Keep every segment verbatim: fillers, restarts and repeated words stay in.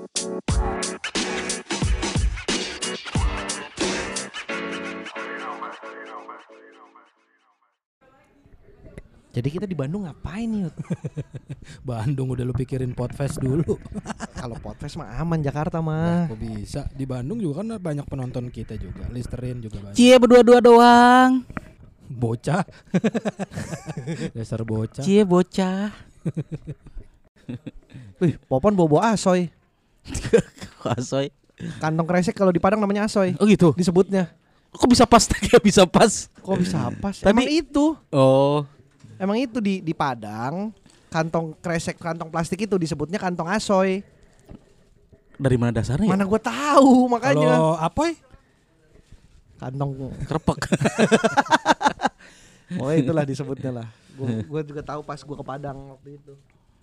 Jadi kita di Bandung ngapain nih? Bandung udah lu pikirin Podfest dulu. Kalau Podfest mah aman, Jakarta mah. Kok bisa? Di Bandung juga kan banyak penonton kita juga. Listerin juga banyak. Cie berdua-dua doang. Bocah. Dasar bocah. Cie bocah. Wih, Popon bobo asoy. Asoy. Kantong kresek kalau di Padang namanya asoy. Oh gitu. Disebutnya. Kok bisa pas? Kayak bisa pas. Kok bisa pas? Tapi- Emang itu. Oh. Emang itu di di Padang, kantong kresek, kantong plastik itu disebutnya kantong asoy. Dari mana dasarnya? Mana gue tahu makanya. Kalau apa? Kantong. Kerepek. Oh itulah disebutnya lah. Gue gue juga tahu pas gue ke Padang waktu itu.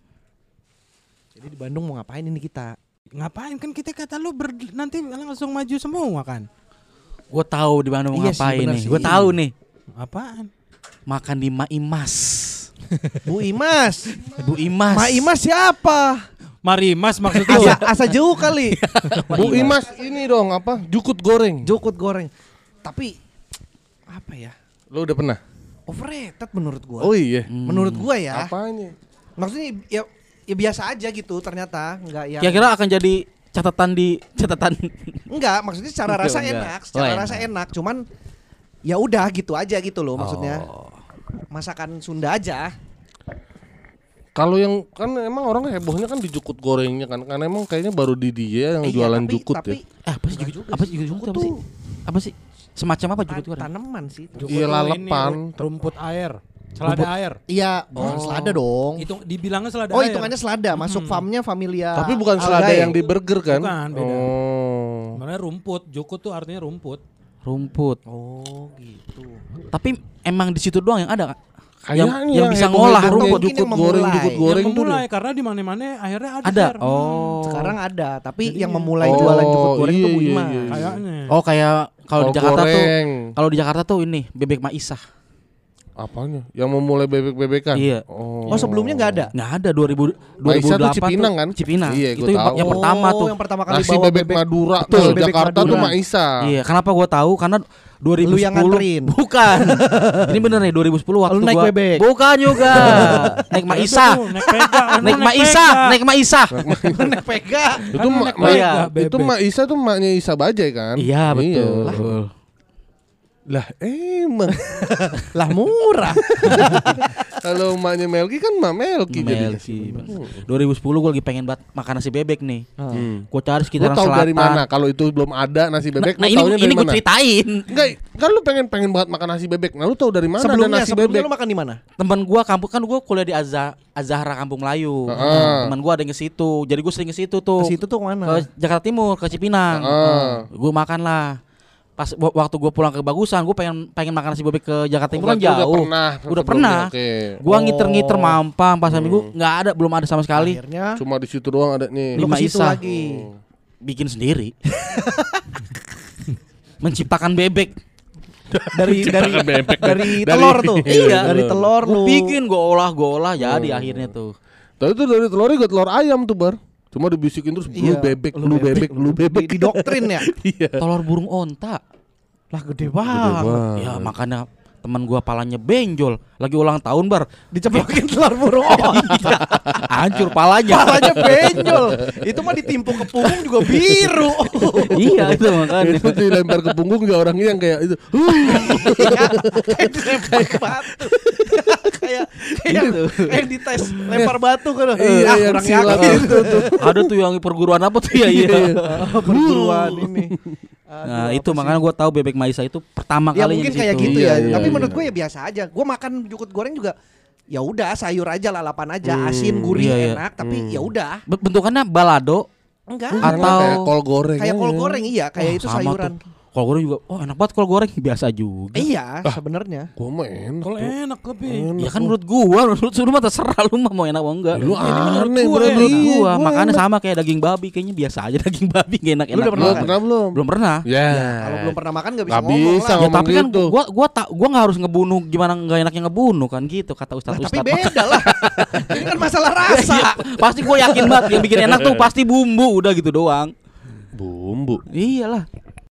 Jadi di Bandung mau ngapain ini kita? Ngapain kan kita kata lu ber, nanti langsung maju semua kan? Gue tahu di mana mau Iya sih, ngapain bener nih. sih. Gue tahu nih. Apaan? Makan di Ma Imas. Bu Imas. Bu Imas. Ma Imas siapa? Mari Mas maksud Asa, lu. asa jauh kali. Bu Imas ini dong apa? Jukut goreng. Jukut goreng. Tapi apa ya? Lo udah pernah? Overrated menurut gua. Oh iya. Menurut gua ya. Apanya? Maksudnya ya, ya biasa aja gitu ternyata, enggak yang Kira-kira akan jadi catatan di catatan. enggak, maksudnya secara rasa Enggak. enak, secara Oh, rasa enak. enak, cuman ya udah gitu aja gitu loh maksudnya. Oh. Masakan Sunda aja. Kalau yang kan emang orang hebohnya kan di jukut gorengnya kan. Karena emang kayaknya baru di dia yang Eh, iya, jualan tapi- jukut tapi, ya. Eh, apa sih Enggak jukut? juga Apa sih. sih jukut? Jukut Apa sih? tuh Apa sih? Semacam apa jukut itu? Tan- tanaman sih. Jukut Iya, tuh lalepan. ini, rumput air. Selada Rumput- air. Iya, bukan Oh. selada dong. Itu dibilangnya selada Oh, air. hitungannya selada, masuk Hmm. farmnya Familia. Tapi bukan selada Algae. yang di burger kan? Bukan, beda. Oh. Sebenarnya rumput. Jukut tuh artinya rumput. Rumput. Oh, gitu. Tapi emang di situ doang yang ada, Kak? Kayaknya yang, yang bisa heboh-heboh ngolah kayak rumput. Mungkin jukut yang goreng, memulai. jukut goreng yang tuh. memulai karena di mana-mana akhirnya ada. Ada. Fer. Hmm. Oh. Sekarang ada, tapi Jadi yang ya. memulai Oh, jualan jukut goreng iya, itu Bu iya, Imas. iya. Kayaknya. Oh, kayak kalau di Kol Jakarta tuh goreng. kalau di Jakarta tuh ini bebek Maisah. Apanya? Yang memulai bebek-bebekan? Iya. Oh, Oh, sebelumnya nggak ada? Nggak ada dua ribu dua ribu Maisah tuh delapan Cipinang kan? Cipinang. Iya, Itu gua yang, tahu. yang pertama Oh, tuh. yang pertama kali Nasi bawa bebek, Madura Betul, ke bebek Jakarta Madura. tuh Maisah. Iya, kenapa gua tahu? Karena dua ribu sepuluh Lu yang nganterin. Bukan. Ini bener nih dua ribu sepuluh waktu Lu naik gua bebek. Bukan juga. Naik Maisah. Itu, Naik pega. Naik Maisah, naik Maisah. Naik pega. Itu Kan ma- naik ma- pega, itu bebek. Mak Isa tuh maknya Isa Bajai kan? Iya, betul. Iya. Lah emang Lah murah. kalau maknya Melki kan Mak Melki jadinya. Melki. dua ribu sepuluh gua lagi pengen banget makan nasi bebek nih. Hmm. Gua cari Lu sekitaran tahu selatan. dari mana? Kalau itu belum ada nasi Nah, bebek, nah lu ini taunya ini dari gue mana? ceritain. Enggak, kan lu pengen pengen banget makan nasi bebek. Nah, lu tahu dari mana ada Sebelumnya, nasi sebelumnya bebek? lu makan di mana? Teman gua kampung kan gua kuliah di Azza, Azahra Kampung Melayu. Heeh. Teman gua ada yang ke situ. Jadi gua sering ke situ tuh. Ke situ tuh Ke mana? Jakarta Timur, ke Cipinang. Heeh. Gue makan lah. Pas w- waktu gue pulang ke Bagusan, gue pengen pengen makan nasi bebek ke Jakarta Timur kan Berarti jauh. Udah pernah. Udah sebelumnya, pernah. Oke. Gue Oh. ngiter-ngiter Mampang pas minggu nggak ada, belum ada sama sekali. Akhirnya Cuma di situ doang ada nih. lu Lima ke situ Isa. lagi. Bikin sendiri. Menciptakan bebek. Dari dari bebek. dari Dari- telur tuh. Iya. Dari telur Gue lu. bikin, gue olah, gue olah jadi akhirnya tuh. Tapi itu dari telurnya gue telur ayam tuh bar. Cuma dibisikin terus lu Iya, bebek, lu lu bebek, lu bebek. Di doktrin ya. Iya. Telur burung onta. Lah gede banget. Ya makanya teman gua palanya benjol, lagi ulang tahun bar, Dicepokin telur burung onta. hancur palanya. Palanya benjol. Itu mah ditimpuk ke punggung juga biru. Iya itu makanya. Itu dilempar ke punggung gak orangnya yang kayak itu. Iya, kayak dilempar batu. Kayak kayak Gitu. kayak dites lempar batu kan. Iya, Ah, yang kurang silat yakin. itu tuh. Ada tuh yang perguruan apa tuh ya iya. Oh, perguruan ini. Aduh, Nah apa itu sih? makanya gua tahu bebek Maisah itu pertama Ya kalinya mungkin di kayak situ. gitu Iya, ya. iya, Tapi iya. menurut gue ya biasa aja. Gue makan jukut goreng juga ya udah sayur aja lalapan aja, Hmm, asin, gurih, iya, iya. enak, tapi Hmm. ya udah. Be- Bentukannya balado Enggak. Atau Atau- kayak kol goreng. Kayak aja. kol goreng iya, kayak Wah, itu sama sayuran. tuh. Kol goreng juga, oh enak banget kol goreng biasa juga. Iya, sebenarnya. Gua mah enak. Kalau tuh. enak tapi. Enak Ya kan tuh. menurut gua, menurut lu mah terserah lu mah mau enak mau enggak. Lu Ini menurut aneh gua berarti. Menurut Iya, gua, gua makanya enak. sama kayak daging babi, kayaknya biasa aja daging babi gak enak-enak. Lu udah pernah Lu makan? pernah belum? Belum pernah. Ya. Kalau belum pernah makan nggak bisa Nggak ngomong bisa lah. Ya ngomong tapi kan gitu. gua gua tak gua nggak harus ngebunuh gimana nggak enaknya ngebunuh kan gitu kata Lah, ustadz tapi ustadz. beda lah. Ini kan masalah rasa. Pasti gua yakin banget yang bikin enak tuh pasti bumbu udah gitu doang. Bumbu. Iyalah.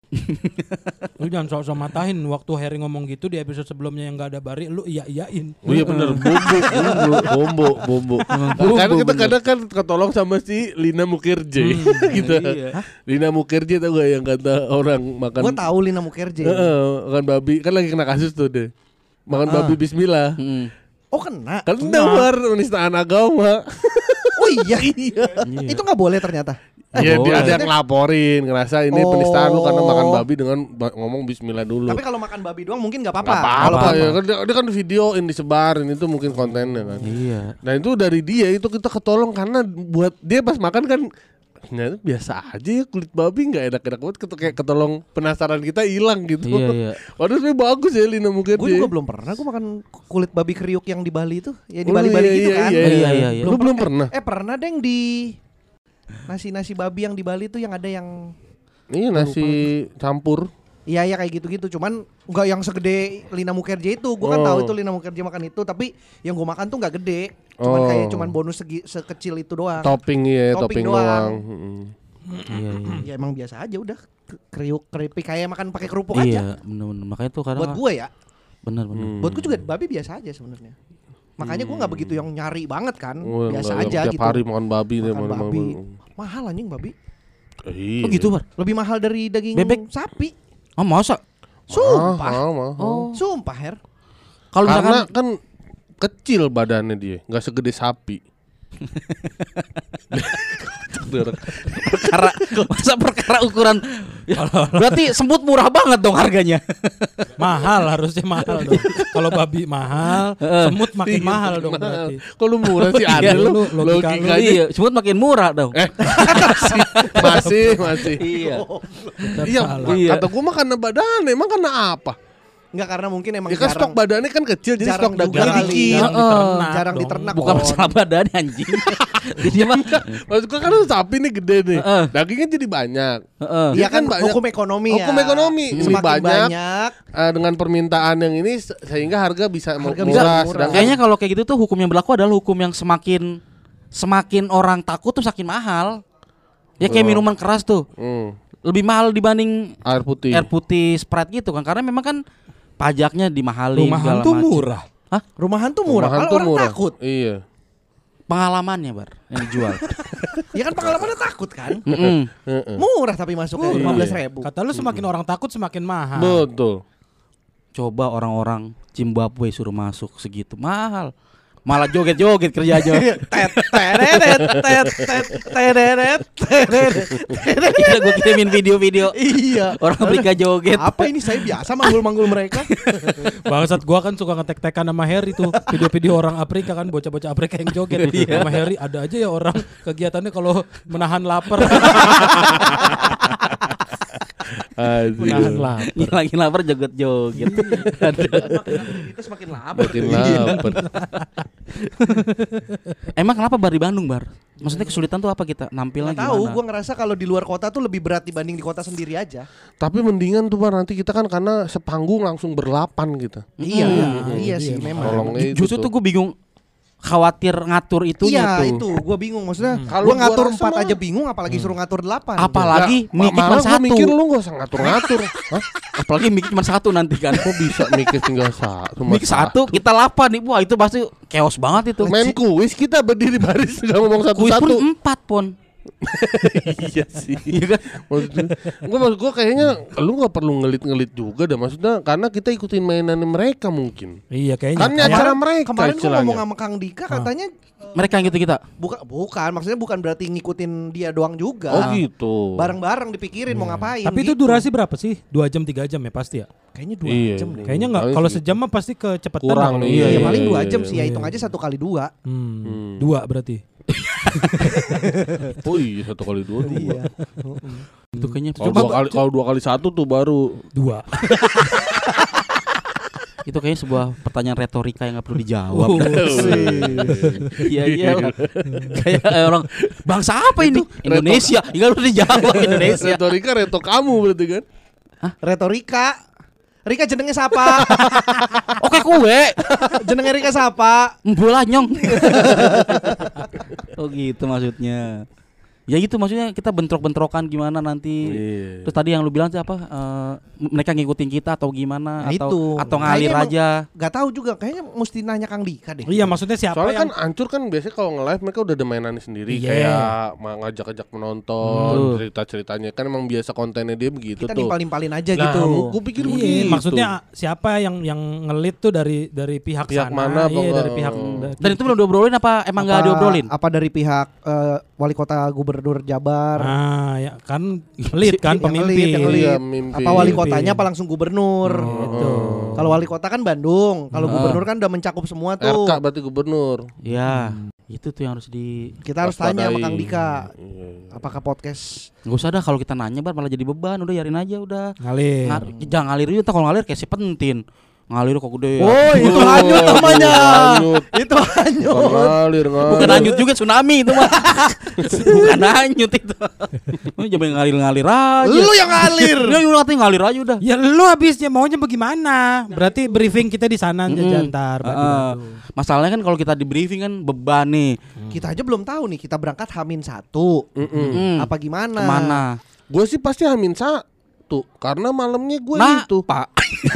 Lu jangan sok-sok matahin waktu Harry ngomong gitu di episode sebelumnya yang enggak ada Bari, lu iya-iyain. Oh iya bener, bumbu, bumbu, bumbu, bumbu. Karena kita kadang kan ketolong sama si Lina Mukherjee gitu. Iya. Lina Mukherjee tau gak yang kata orang makan Gue tahu Lina Mukherjee. Heeh, makan babi, kan lagi kena kasus tuh deh. Makan babi bismillah. Mm. Oh kena. Kan dengar penistaan agama. Oh iya. Itu nggak boleh ternyata. Iya, boleh. dia ada yang ngelaporin, ngerasa ini Oh. penistaan lu karena makan babi dengan ba- ngomong bismillah dulu. Tapi kalau makan babi doang mungkin nggak apa-apa. Gak Kalau apa-apa apa- ya, kan dia, dia kan videoin, disebarin, itu mungkin kontennya kan. Iya. Nah itu dari dia itu kita ketolong karena buat dia pas makan kan ternyata biasa aja ya kulit babi nggak enak-enak banget ket- kayak ketolong penasaran kita hilang gitu. Iya, iya. Waduh sebenarnya bagus ya Lina Gue Mukherjee. juga belum pernah. Gue makan kulit babi kriuk yang di Bali itu. Ya di Oh, Bali-Bali iya, gitu iya, kan. Iya, Iya, iya, iya, iya. Lu belum pernah? Eh pernah deng di nasi-nasi babi yang di Bali tuh yang ada yang Ini nasi campur. iya ya kayak gitu-gitu. Cuman nggak yang segede Lina Mukherjee itu. Gue kan Oh. tahu itu Lina Mukherjee makan itu. Tapi yang gue makan tuh nggak gede. Cuman Oh. kayak cuman bonus segi, sekecil itu doang. Topping ya, Topping topping, doang. doang. Mm-mm. Iya, iya. Ya emang biasa aja udah K- kriuk keripik kayak makan pakai kerupuk aja. Iya, bener-bener. Makanya tuh kadang Buat gue ya. bener-bener. Hmm. Buat gue juga babi biasa aja sebenarnya. Makanya gue nggak begitu yang nyari banget kan. Oh, biasa enggak, aja tiap gitu. hari makan babi deh, Makan makan babi. Mahal anjing babi. Iya. Oh gitu, Bar. Lebih mahal dari daging Bebek? sapi. Oh, masa? Sumpah. Mahal, mahal. Oh. Sumpah Her. Kalau Karena misalkan kan kecil badannya dia, nggak segede sapi. perkara masa perkara ukuran ya, berarti semut murah banget dong harganya. Mahal harusnya mahal dong. Kalau babi mahal, semut makin mahal dong berarti. Kok lu murah sih Iya, aneh lu? lu, logika lu. Logikanya Iya, semut makin murah dong. eh masih masih. Iya. Tetap Iya, salah. Iya. kata gua mah karena badannya, emang karena apa? Enggak karena mungkin emang Ya kan jarang. stok badannya kan kecil, jadi jarang stok juga daging kali. dikit. Jarang Heeh. diternak Jarang dong. diternak. Bukan Kon. masalah badan anjing. Jadi mah Maksud gua kan sapi nih gede nih, Heeh. dagingnya jadi banyak. heeh. Iya Dia kan kan banyak- hukum ekonomi ya. Hukum ekonomi. Ini Semakin banyak. banyak. Eh, dengan permintaan yang ini se- sehingga harga bisa Harga murah. bisa murah. Sedangkan Kayaknya kalau kayak gitu tuh hukum yang berlaku adalah hukum yang semakin semakin orang takut tuh semakin mahal. Ya kayak Oh. minuman keras tuh. Hmm, Lebih mahal dibanding air putih. air putih Sprite gitu kan. Karena memang kan pajaknya dimahalin Rumahan segala tuh macem. murah. Rumahan tuh murah. Rumahan Kalau tuh orang murah. takut. Iya. Pengalamannya bar yang dijual. Ya kan pengalamannya takut kan. Mm-mm. Heeh. Murah tapi masuknya Murah. lima belas ribu. Kata lu semakin orang takut semakin mahal. Betul. Coba orang-orang Zimbabwe suruh masuk segitu mahal. Malah joget-joget kerja aja. Tet teret tet tet teret teret. Kita gue kirimin video-video Iya. orang Afrika joget. Apa ini saya biasa manggul-manggul mereka. Bangsat gua kan suka ngetek-tekan sama Harry tuh video-video orang Afrika kan bocah-bocah Afrika yang joget. Sama Harry ada aja ya orang kegiatannya kalau menahan lapar. menahan Aduh. lapar. Lagi lapar joget-joget. Itu semakin lapar. Makin lapar. Emang kenapa bar di Bandung bar? Maksudnya kesulitan tuh apa kita nampilnya Nggak tahu, gimana? gue ngerasa kalau di luar kota tuh lebih berat dibanding di kota sendiri aja. Tapi mendingan tuh Bar, nanti kita kan karena sepanggung langsung berlapan kita. Iya, Hmm. iya Iya, sih memang. Tolongnya itu Justru tuh gue bingung khawatir ngatur itunya Iya tuh. itu, gue bingung maksudnya. Kalau Gue gua ngatur rasa empat mah- aja bingung, apalagi suruh ngatur delapan. Apalagi Nggak, mic cuma malah gua satu. mikir lu gak usah ngatur-ngatur. Hah? Apalagi mic cuma satu nanti kan. Kok bisa mikir tinggal satu? Mic satu kita lapan nih. Wah itu pasti chaos banget itu. Main kuis kita berdiri baris nggak ngomong Kuis pun satu-satu. empat pon. Iya sih. Iya kan? Maksudnya, gua maksud gua kayaknya lu nggak perlu ngelit-ngelit juga dah, maksudnya karena kita ikutin mainan mereka mungkin. Iya kayaknya. Kan ini Kayak- acara mereka Kemarin gue istilahnya. ngomong sama Kang Dika katanya Mereka yang gitu kita. bukan bukan maksudnya bukan berarti ngikutin dia doang juga. Oh gitu. Bareng-bareng dipikirin mau ngapain. Tapi itu gitu. durasi berapa sih? Dua jam tiga jam ya pasti ya. Kayaknya dua Iya. jam deh. Kayaknya nggak. Paling Kalau segitu. sejam mah pasti kecepatan. Kurang lah. nih. Iya, Iya, paling iya, dua iya, jam iya. sih ya hitung aja satu kali dua. Hmm. Hmm. Dua berarti. Oh iya satu kali dua dua. Iya. Itu kayaknya Kalau coba dua kali kalau dua kali satu tuh baru. Dua. itu kayaknya sebuah pertanyaan retorika yang nggak perlu dijawab. Iya iya. Kayak orang bangsa apa ini? Indonesia. Nggak perlu dijawab Indonesia. Retorika reto kamu berarti kan? Retorika. Rika jenenge siapa? Oke kue. Jenenge Rika siapa? Bola nyong. Oh gitu maksudnya. Ya gitu maksudnya kita bentrok-bentrokan gimana nanti. Iya. Terus tadi yang lu bilang siapa? Uh, mereka ngikutin kita atau gimana? Nah, atau itu. atau ngalir Kayaknya aja? Gak tahu juga. Kayaknya mesti nanya Kang Dika deh. Iya maksudnya siapa Soalnya yang kan hancur kan biasanya kalau nge-live mereka udah ada mainannya sendiri. Iya. Kayak ma- ngajak-ngajak menonton, Hmm. cerita-ceritanya. Kan emang biasa kontennya dia begitu Kita tuh. nimpalin-nimpalin aja Nah, gitu. gue pikir Iya, begitu. maksudnya siapa yang yang ngelit tuh dari dari pihak, Pihak sana, mana, apa iya, enggak? dari pihak Dan itu belum diobrolin apa emang nggak diobrolin? Apa dari pihak eh, wali kota gubernur Jabar? Ah, ya kan lead kan Yang pemimpin. ngelit, yang ngelit. Iya, mimpi. Apa wali Pemimpin. kotanya apa langsung gubernur? Gitu. Kalau wali kota kan Bandung, kalau Ah. gubernur kan udah mencakup semua tuh. R K berarti gubernur. Ya, itu tuh yang harus di. Kita harus tanya sama Waspadai. Kang Dika. Iya. Apakah podcast Gak usah dah kalau kita nanya bar malah jadi beban. Udah yarin aja udah. Ngalir. Ngar- jangan ngalir juga. Kalau ngalir kayak si pentin. Ngalir kok gede. ya. Oh, itu hanyut namanya. Hanyut. Itu hanyut. Ngalir, ngalir. Bukan hanyut juga tsunami itu mah. Bukan hanyut itu. Ini jangan ngalir-ngalir aja. Lu yang ngalir. Ya lu ngatain ngalir aja udah. Ya lu habisnya maunya bagaimana? Berarti briefing kita di sana Mm-mm. Jantar. Ah, masalahnya kan kalau kita di briefing kan beban nih. Kita aja belum tahu nih, kita berangkat Hamin satu. Mm. Apa gimana? Kemana? Gue sih pasti hamin satu karena malamnya gue Nah, itu Pak.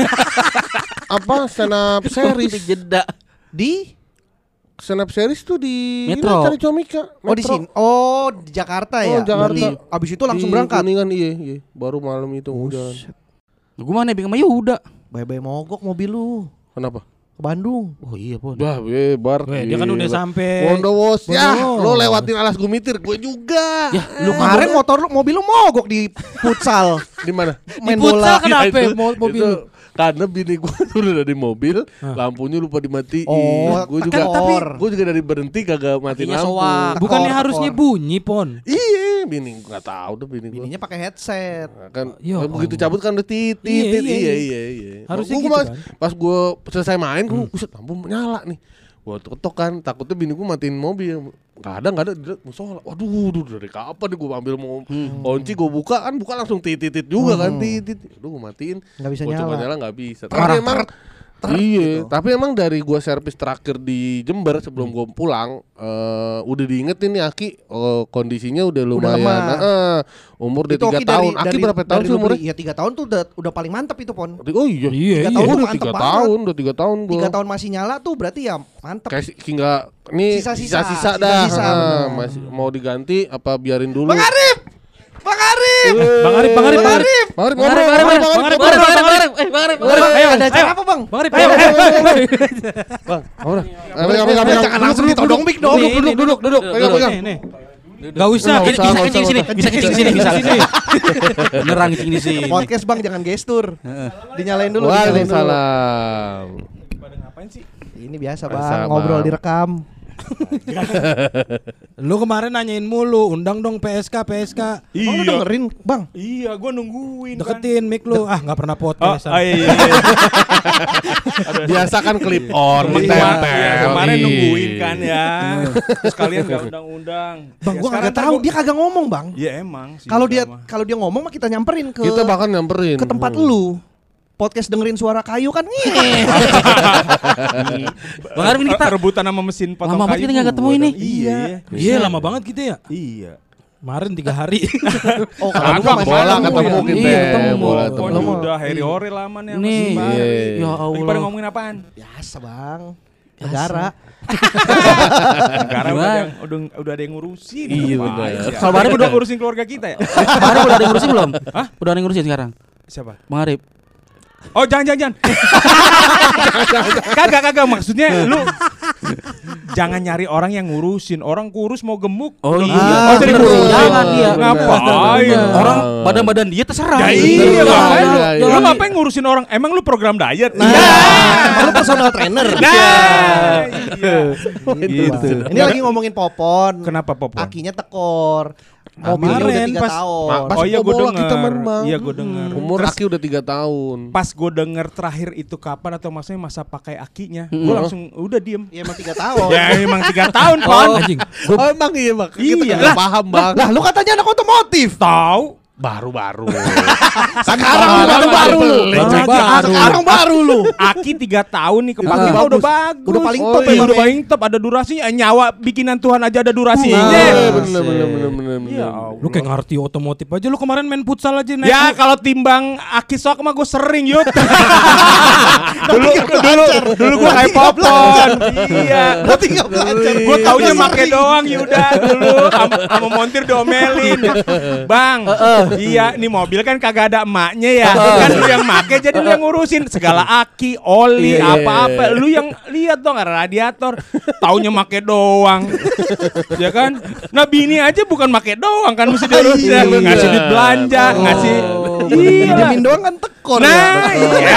apa stand up series. Jeda. Di Stand up series tuh di Metro. ini Cari Comika. Oh di Metro. sini. Oh di Jakarta Oh, ya. Jakarta. Berarti abis itu langsung Di berangkat. Kuningan iya, iya. Baru malam itu jalan. Gue mana bingung sama Yuda. Bye-bye mogok mobil lu Kenapa? ke Bandung. Oh iya, Pon. Dah, bebar. Weh, dia kan udah sampai Bondowoso. Ya, Bondowoso. lo lewatin alas gumitir, gue juga. Ya, Lu kemarin motor lu mobil lu mogok di futsal. Di mana? Main Di futsal bola. kenapa Ya, itu- mo- mobil itu lu? karena bini gue udah dari mobil, lampunya lupa dimatiin. Oh, gue juga tekor. gue juga dari berhenti kagak matiin Kakinya lampu. soak. bukannya Tekor, harusnya tekor. bunyi, Pon. Iya, bini gue nggak tahu tuh bini gue. Bininya pakai headset. Kan Ya begitu Allah. cabut kan udah titit, Iya, titit. iya, Iya, iya. iya, iya. Harusnya Gua- gitu gua pas, kan. pas gue selesai main, gue buset lampu nyala nih. Gue ketok kan, takutnya bini gue matiin mobil. Gak ada, gak ada, dia musola. Waduh, duh, dari kapan nih gue ambil mau kunci, gue buka kan, buka langsung titit juga kan, titit. Aduh, gue matiin. Nggak bisa Gua coba nyala. nyala nggak bisa. Marah, Tapi emang ter- iya, gitu. tapi emang dari gua servis terakhir di Jember sebelum gua pulang, eh, udah diingetin nih Aki, eh, kondisinya udah lumayan. lemah. eh, umur udah Itu tiga Oki tahun. dari- Aki dari- berapa tahun dari sih lu umurnya? beli? Ya tiga tahun tuh udah udah paling mantep itu Pon. Oh iya. Iya, Tiga iya. tahun Gua tuh udah mantep tiga banget. tahun, udah tiga tahun gua. Tiga tahun masih nyala tuh berarti ya mantep. Kayak si- hingga nih Sisa-sisa, sisa-sisa dah. sisa-sisa, eh, bener. masih mau diganti apa biarin dulu? Bang Arif! Bang Arif! Bang Arif, Bang Arif, Bang Bang Arif! Arif, Bang Arif, ngobrol, Bang Arif, ngobrol, Bang ngobrol, Arif, Bang Arif, ngobrol. Bang Arif, Bang Arif, eh, Bang Arif, Bang Arif. Ayo, ada ayo. acara apa Bang? Bang Arif, ayo, ayo, ayo. Bang, ngobrol. Kami kami kami Jangan langsung ditodong mic dong. Nih, duduk ini, duduk duduk. Pegang duduk. pegang. Nih, nih. Gak usah. Nggak Bisa usah, nggak kencing di sini, usah. bisa kencing di sini, bisa di sini. Beneran kencing di sini. Podcast Bang jangan gestur. Dinyalain dulu, dinyalain dulu. Waalaikumsalam. Ini biasa Biasa, Bang, ngobrol Bang. direkam. Lu kemarin nanyain mulu, undang dong P S K, P S K. Bang lu dengerin, Bang. Iya, gue nungguin kan. Deketin mic lu. Ah, nggak pernah Oh, podcast. oh iya, iya, iya. Biasa kan clip on, Iya, mentempel. iya, kemarin Ih. nungguin kan ya. Terus kalian gak undang-undang. Bang, Ya, gua sekarang kagak tahu, gua- dia kagak ngomong, Bang. Iya emang sih. Kalau dia sama. kalau dia ngomong mah kita nyamperin ke Kita bahkan nyamperin ke tempat Hmm. lu. Podcast dengerin suara kayu kan ngeeh. Bang Arif ini kita rebutan sama mesin potong Lama banget kayu kita nggak gua ketemu dong. ini. Iya. Iya, lama banget gitu ya. Iya. Kemarin tiga hari. Oh, Kalau lu gua masih bola ketemu ketemu ya? kita. Iya, ketemu. Bola Pokoknya ketemu. Ketemu. udah Harry Ore lama nih sama Nih. si Bang. Iya. Ya Lagi pada Allah. ngomongin apaan? Biasa, Bang. Negara. Negara udah Gimana? ada yang udah, udah ada yang ngurusin. Iya, Ngapain benar. sih? Kalau Bang Arif udah udah- ngurusin keluarga kita ya? Bang Arif udah ada yang ngurusin belum? Hah? Udah ada yang ngurusin sekarang? Siapa? Bang Arif. Oh jangan jangan. Kagak kagak maksudnya lu jangan nyari orang yang ngurusin. Orang kurus mau gemuk. Oh Lu- iya. Oh jadi Bener. ngurusin. Jangan iya. Ngapain? Orang badan-badan dia terserah. Ya gitu. iya, Iya, ngapain lu? iya, iya. Lu ngapain ngurusin orang? Emang lu program diet? Nah, lu personal trainer. Nah, iya. Gitu. Ini lagi ngomongin Popon. Kenapa Popon? Kakinya tekor. Mobilnya udah Kemarin tiga pas- tahun. Ma- pas Oh iya gue bola denger. kita main, Bang. Iya gue denger. Umur Terus Aki udah tiga tahun. pas gue denger terakhir itu kapan atau maksudnya masa pakai akinya, Hmm. gue langsung udah diem. Ya emang tiga tahun. Ya emang tiga tahun Pon. Anjing. Oh emang iya bang, kita Iya. nggak Lah, paham bang. Lah, lu katanya anak otomotif. Tahu? Baru-baru. Sekarang baru baru lu. Sekarang baru. Sekarang baru lu. Aki tiga tahun nih kepake Udah mah udah bagus. bagus. Udah paling Oh, top Iya, ya, udah Bang, paling top, ada durasinya. Eh, nyawa bikinan Tuhan aja ada durasinya. Iya bener bener bener bener. Iya. bener. Lu kayak ngerti otomotif aja. Lu kemarin main futsal aja naik. Ya kalau timbang Aki sok mah gue sering yut. dulu dulu dulu gue kayak Popon. Iya. Berarti enggak belajar. Gue taunya make doang Yuda dulu sama, sama montir domelin. Bang, iya nih mobil kan kagak ada emaknya ya. Kan lu yang make jadi lu yang ngurusin segala aki, oli, Iya, iya, apa-apa. iya. Lu yang lihat dong ada radiator. Taunya make doang. Ya kan? Nah bini aja bukan make doang kan mesti diurusin. Iya, bener. Ngasih duit belanja, ngasih iya. Didiemin doang kan tekor ya. Nah, iya.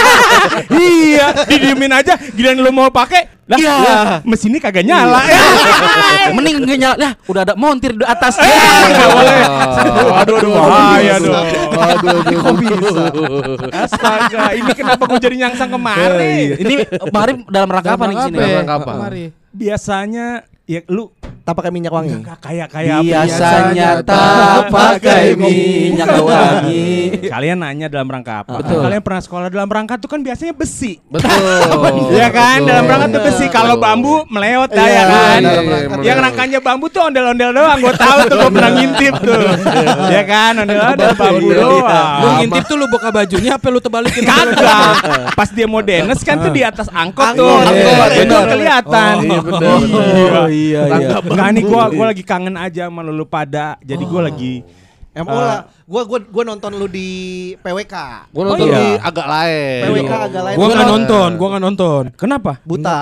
Iya, didiemin aja. Giliran lu mau pakai, lah, Iya. lah, mesinnya kagak nyala. Ya. Mending nggak nyala. Lah, udah ada montir di atas. Nggak boleh. Aduh, aduh, aduh, bahaya dong. Aduh aduh. Kok bisa? Astaga, ini kenapa gue jadi nyangsang kemarin? Ini Bang Arif dalam rangka apa nih di sini? Dalam rangka apa? Mari. Biasanya ya lu Tak pakai minyak wangi. nggak kayak kayak apa? Biasanya tak pakai minyak wangi. Kalian nanya dalam rangka apa? Betul. Kalian pernah sekolah dalam rangka tuh kan biasanya besi. Betul. Iya kan, Betul. dalam rangka tuh besi. Kalau bambu meleot dah Iya, ya kan. iya, iya, Yang iya. rangkanya bambu tuh ondel-ondel doang. Gue tahu tuh gue pernah ngintip tuh. Ya kan, ondel-ondel bambu Iya, iya. doang. Lu ngintip tuh lu buka bajunya apa lu tebalikin? Kagak. Pas dia mau denes kan tuh di atas angkot Angkot, tuh. angkot, Itu bener. kelihatan. Iya benar. Oh iya iya. Enggak nih gua gua lagi kangen aja sama lu pada. Jadi gua lagi M O lah. Gua gua gua nonton lu di P W K. Gue nonton iya. di agak lain. P W K agak lain. Gua nggak Gua nonton, gua nggak nonton. kenapa? buta.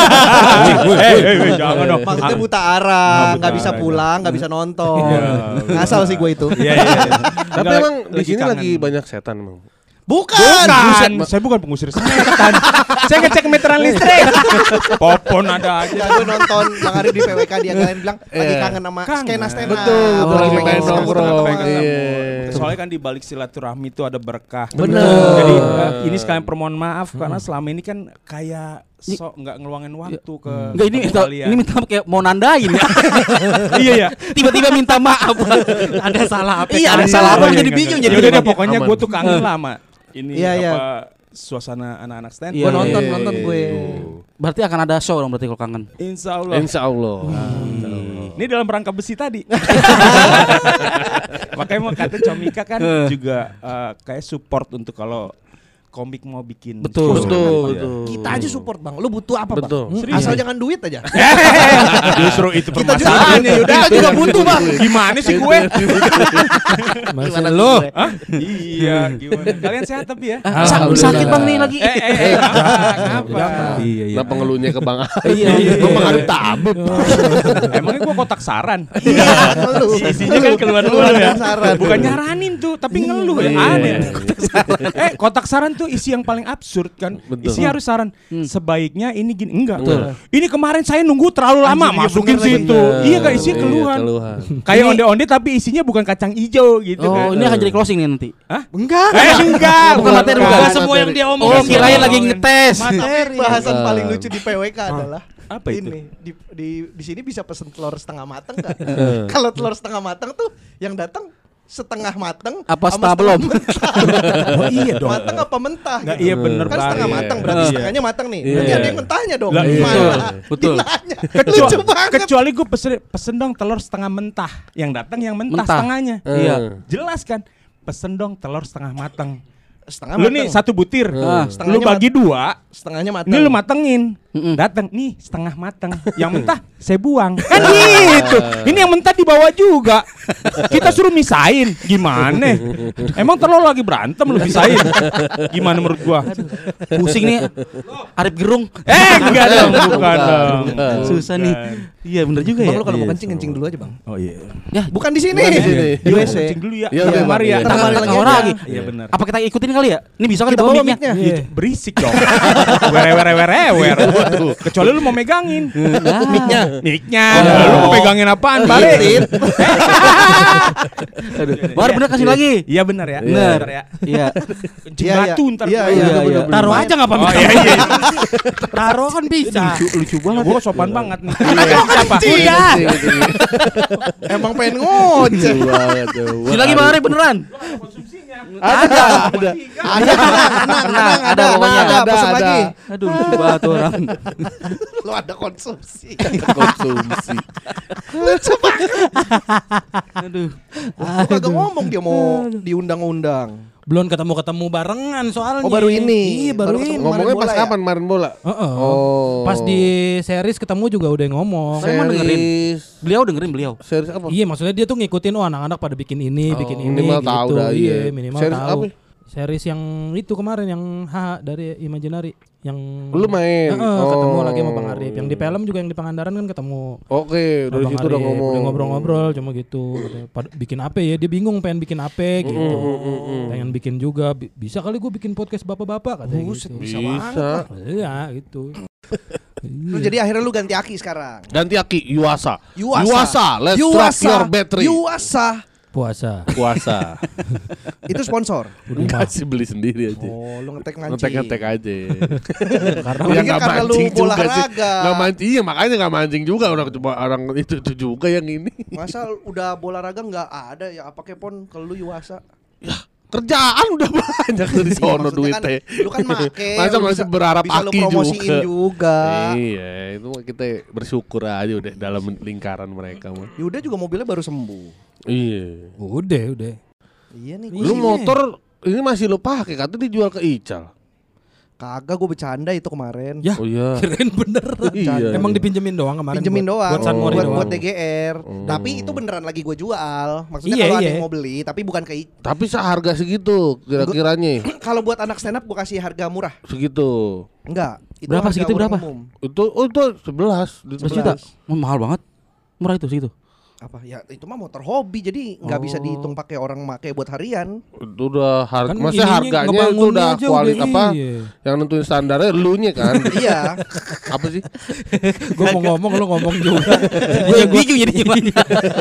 Eh, eh, eh, jangan dong. Maksudnya buta Ah, arah, buta nggak bisa arah, pulang, nggak bisa nonton. Iya. Ngasal sih gue itu. Iya, iya. iya. Tapi Enggak, emang di sini kangen. lagi banyak setan emang. Bukan. Bukan, saya bukan pengusir setan. Saya ngecek meteran listrik. Popon ada aja. Ya gue nonton Bang Arif di P W K dia kalian bilang lagi Iya. kangen sama Kangen. skena skena. Betul, betul, Oh, lagi pengen pengen ketemu nongkrong. teman-teman. Iya. Soalnya kan di balik silaturahmi itu ada berkah. Bener. Jadi eh, ini sekalian permohon maaf karena selama ini kan kayak sok nggak ngeluangin waktu ke Enggak ini ke minta, kalian. ini minta kayak mau nandain ya. Iya ya. Tiba-tiba minta maaf. Ada salah apa? Iya, ada Iya, salah apa iya, jadi iya, bingung iya. jadi. Yaudah deh, bingung. pokoknya Aman. gue tuh kangen lama. Ini Iya, iya. apa suasana anak-anak stand. Iya, Gue nonton iya, nonton iya, gue. Berarti akan ada show dong berarti kalau kangen. Insya Allah. Insya Allah. Ini dalam rangka besi tadi. Makanya mau kata Comika kan juga eh, kayak support untuk kalau komik mau bikin. Betul. show. Betul, Iya. betul. Kita aja support Bang. Lu butuh apa Betul. Bang? Serius. Asal jangan duit aja. Justru itu Kita juga permasalahannya Yuda. Kita juga butuh Bang. Gimana sih gue? Masih lu. Hah? Iya, gimana? Kalian sehat tapi ya? Ah, sa- Alhamdulillah. sakit Bang nih lagi. Eh, eh, eh, kenapa? Iya Kenapa ngeluhnya ke Bang Arif? Iya, iya. Gue Bang Arif tabib. Emangnya gue kotak saran? Iya, lu. Isinya kan keluar-keluar ya. Kotak saran. Bukan nyaranin tuh, tapi ngeluh ya. Aneh. Eh, kotak saran tuh isi yang paling absurd kan. Betul. Isinya harus saran. Sebaiknya ini gini, enggak. Betul. Ini kemarin saya nunggu terlalu lama, Anjir, iya masukin bener lagi. situ. Iya kan isinya Iya, keluhan. keluhan. Kayak onde-onde tapi isinya bukan kacang hijau gitu kan. Oh, ini akan jadi closing nih nanti. Hah? Enggak. Eh, enggak. Bukan materi, bukan. Enggak semua yang dia omongin. Oh, kirain lagi ngetes. Materi. Bahasan paling lucu di P W K adalah Apa itu? ini di di di sini bisa pesen telur setengah matang nggak? Kalau telur setengah matang tuh yang datang setengah matang Apa sama setengah belum? mentah. Oh iya dong. Matang apa mentah Nggak, gitu. iya bener Kan setengah banget. matang berarti Iya. setengahnya matang nih. Iya. Berarti ada yang mentahnya dong. Lah, iya. Mana? Betul. Ditanya. Kecuali, Lucu banget. kecuali gue pesen, pesen dong telur setengah mentah. Yang datang yang mentah, Mentah. setengahnya. Iya. Jelas kan? Pesen dong telur setengah matang. Setengah Lu matang. nih satu butir. Ah. Lu Setengahnya bagi dua. Setengahnya matang. Ini lu matengin. Mm-mm. Datang nih setengah matang. Yang mentah saya buang. Kan gitu. Ini yang mentah dibawa juga. Kita suruh misahin. Gimana? Emang terlalu lagi berantem lu misahin. Gimana menurut gua? Pusing nih. Arif Gerung. Eh, enggak dong, bukan dong. Susah nih. Iya bener juga Bang ya. lu kalau mau Iya. kencing kencing dulu aja, Bang. Oh iya. Ya, Bukan di sini. Bukan di sini. Di W C. Kencing dulu ya. Iya, Iya, iya, mari ya. Bang. ntar Kembali balik lagi orang aja. lagi. Iya benar. Apa kita ikutin kali ya? Ini bisa kan Kita di bawah bawa mic-nya? mic-nya. Iya. Berisik dong. Were were were wer. Kecuali lu mau megangin. Mic-nya. Mic-nya. Lu mau megangin apaan, Balik? Aduh. Baru bener kasih lagi. Iya benar ya. Bener. ya. Iya. Kencing Iya, batu iya. ntar. Iya, gua. iya, Iya, iya. Taruh aja nggak apa-apa. Oh iya iya. Taruh kan bisa. Lucu, lucu banget. Gua sopan banget nih. Siapa? Udah. Emang pengen ngoceh. Sini lagi Bang Arif beneran. Ada, ada. Ada, tenang, tenang, ada, pokoknya. ada, Ada, pesen ada. lagi. Aduh lucu banget tuh orang. Lu ada konsumsi. Konsumsi. Aduh. Lu kagak ngomong dia mau diundang-undang. Belum ketemu-ketemu barengan soalnya. Oh, baru ini. Iya, baru, Baru ini. ketemu. Ngomongnya Kemarin pas bola ya? kapan kemarin bola? Heeh. Oh. Pas di series ketemu juga udah ngomong. Saya mau dengerin. Series Beliau dengerin beliau. series apa? Iya, maksudnya dia tuh ngikutin oh anak-anak pada bikin ini, Oh, bikin ini minimal gitu. tahu dah, iya, iya. minimal Series tahu. apa? Series yang itu kemarin yang H dari Imaginary yang Lu main? Heeh, ketemu Oh. lagi sama Bang Arif. Yang di film juga yang di Pangandaran kan ketemu. Oke, dari Bang situ udah Arif. ngomong. Udah ngobrol-ngobrol cuma gitu. Katanya, "Pad- bikin apa ya? Dia bingung pengen bikin apa gitu. Pengen bikin juga. Bi- Bisa kali gue bikin podcast bapak-bapak katanya Buset, gitu. bisa Bisa. Iya gitu. Lu jadi akhirnya lu ganti aki sekarang. Ganti aki Yuasa. Yuasa. Yuasa, let's Yuasa. drop your battery. Yuasa. Puasa. Puasa. Itu sponsor. Kasih beli sendiri aja. Oh, lu ngetek mancing. Ngetek-ngetek aja. Karena Gua Ya pikir nggak karena lu mancing juga sih. olahraga. Nggak mancing, iya makanya nggak mancing juga orang cuma orang itu, itu juga yang ini. Masa udah bola raga nggak ada ya apa kepon kalau lu Yuasa. Kerjaan udah banyak dari Iya, sono maksudnya duitnya. kan lu kan make, Masa lu masih bisa- berharap bisa lu aki promosiin juga. juga. Iya, itu mah kita bersyukur aja udah dalam lingkaran mereka mah. Yuda juga mobilnya baru sembuh. Iya. udah, udah. Iya nih. Lu Iya. motor ini masih lu pakai, katanya dijual ke Ical. Kagak, gue bercanda itu kemarin. Ya, Oh iya. kirain beneran. Iya. Emang dipinjemin doang kemarin. Pinjemin buat- doang Buat San Mori buat, doang. buat D G R. Oh. Tapi itu beneran lagi gue jual. Maksudnya Iya, kalau ada iya. yang mau beli, tapi bukan ke Tapi seharga segitu kira-kiranya. kalau buat anak stand up gue kasih harga murah. Segitu. Enggak. Itu Berapa harga segitu, orang berapa? umum. Itu oh itu sebelas. Sebelas juta. Oh, mahal banget. Murah itu segitu. Apa ya itu mah motor hobi jadi nggak bisa dihitung pakai orang make buat harian. Itu udah harga, Kan maksudnya ininya, harganya itu ngebangunnya udah aja kualitas udah, apa? iya. Yang nentuin standarnya lu nya kan. Iya. Apa sih? Gue mau ngomong lu ngomong juga. Gue bingung jadi gimana.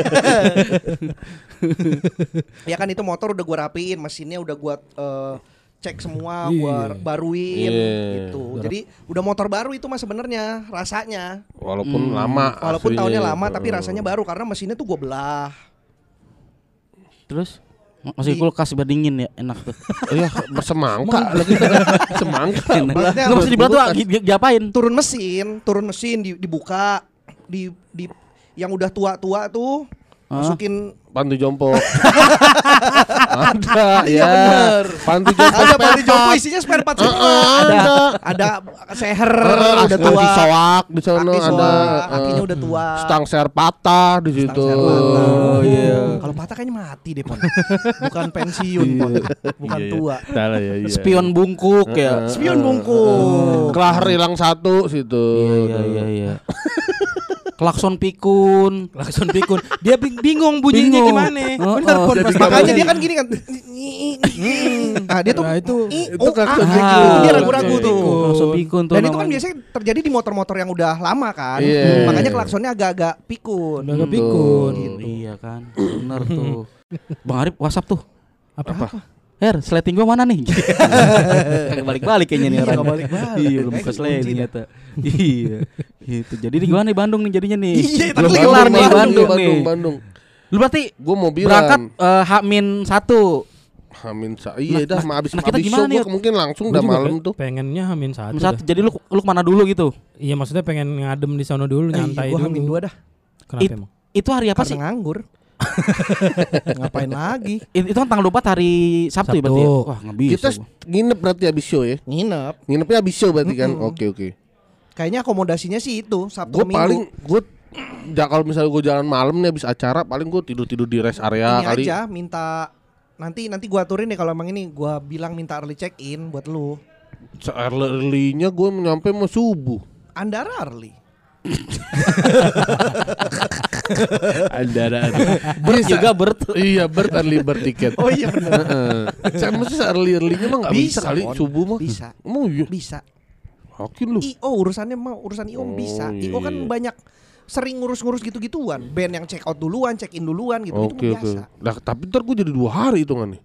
Ya kan itu motor udah gua rapiin, mesinnya udah gua eh, cek semua, Iya. gua baruin Iya. gitu. Jadi udah motor baru itu mah sebenarnya rasanya. Walaupun Hmm. lama. Walaupun aslinya. tahunnya lama tapi Eh. rasanya baru karena mesinnya tuh gua belah. Terus masih kulkas biar dingin ya, enak tuh. Iya, semangka lagi. Semangka. Maksudnya Enggak mesti dibelah tuh di- di- diapain? turun mesin, turun mesin di- dibuka, di di yang udah tua-tua tuh Hah? masukin Panti jompo. Ada Iya, ya. bener. Panti jompo. ada panti jompo isinya spare part semua. ada. Ada seher Eh, udah tua. Aki soak di sana Aki ada. soak, eh, akinya udah tua. Stang ser patah di situ. Stang ser patah. Oh, iya. Kalau patah kayaknya mati deh, Pon. Bukan pensiun, Pon. Bukan Iya, iya. tua. Salah ya, iya. Spion bungkuk ya. Spion bungkuk. Kelahar hilang satu situ. Iya iya iya iya. Klakson pikun. Klakson pikun. Dia bing- bingung bunyinya Bingung. gimana. Oh, Bener oh. Pon. Jadi Pas nggak Makanya makanya dia kan gini kan. Nah, dia tuh Nah, itu i- itu oh, klakson ah, pikun. itu dia ragu-ragu Klakson tuh. pikun. Klakson pikun tuh. Dan itu kan namanya. biasanya terjadi di motor-motor yang udah lama kan. Iya. Makanya klaksonnya agak-agak pikun. udah agak pikun. Oh, iya kan. Bener tuh. Bang Arif WhatsApp tuh. Apa? Apa? Her, sleting gua mana nih? Kagak balik-balik kayaknya nih Iya, orang. nggak balik-balik. Iya, belum Kayak buka sliding kunci dah. ternyata. Iya. Gitu. Jadi di gimana nih Bandung nih jadinya nih? Iya, belum tapi kelar nih Bandung, Bandung, Bandung, nih. Bandung. Lu berarti Gue mau bilang. berangkat eh, H-min satu. Hamin sa iya Nah, dah, nah, abis nah, kita abis gimana show nih? gue mungkin langsung Gua udah juga malam pe- tuh. pengennya hamin satu. Hamin satu. dah. Jadi lu lu kemana dulu gitu? Iya maksudnya pengen ngadem di sana dulu, nyantai Gue dulu. hamin dua dah. Kenapa It- emang? Itu hari apa Karena sih? nganggur. Ngapain lagi? It- Itu kan tanggal dua puluh empat hari Sabtu, ya berarti ya? Sabtu. Wah, nggak bisa. Kita gua. nginep berarti abis show ya. Nginep. Nginepnya abis show berarti kan. Mm-mm. Oke oke. Kayaknya akomodasinya sih itu Sabtu Gue Minggu. paling gue ja, kalau misalnya gue jalan malam nih habis acara paling gue tidur-tidur di rest area Ini kali. aja minta nanti nanti gua aturin deh kalau emang ini gua bilang minta early check in buat lu. Early-nya gue nyampe mau subuh. Andara early. Andara. Bert juga Bert. Iya, Bert early bird tiket. Oh iya benar. Heeh. Saya mesti early-earlynya mah enggak bisa, Bisa, kali Pon. subuh mah. Bisa. Emang iya. Bisa. Yakin lu? I O urusannya mah urusan I O Oh, bisa. iya, I O kan iya. banyak sering ngurus-ngurus gitu-gituan. Band yang check out duluan, check in duluan gitu itu Oke mah oke. biasa. Nah, tapi ntar gue jadi dua hari hitungan nih.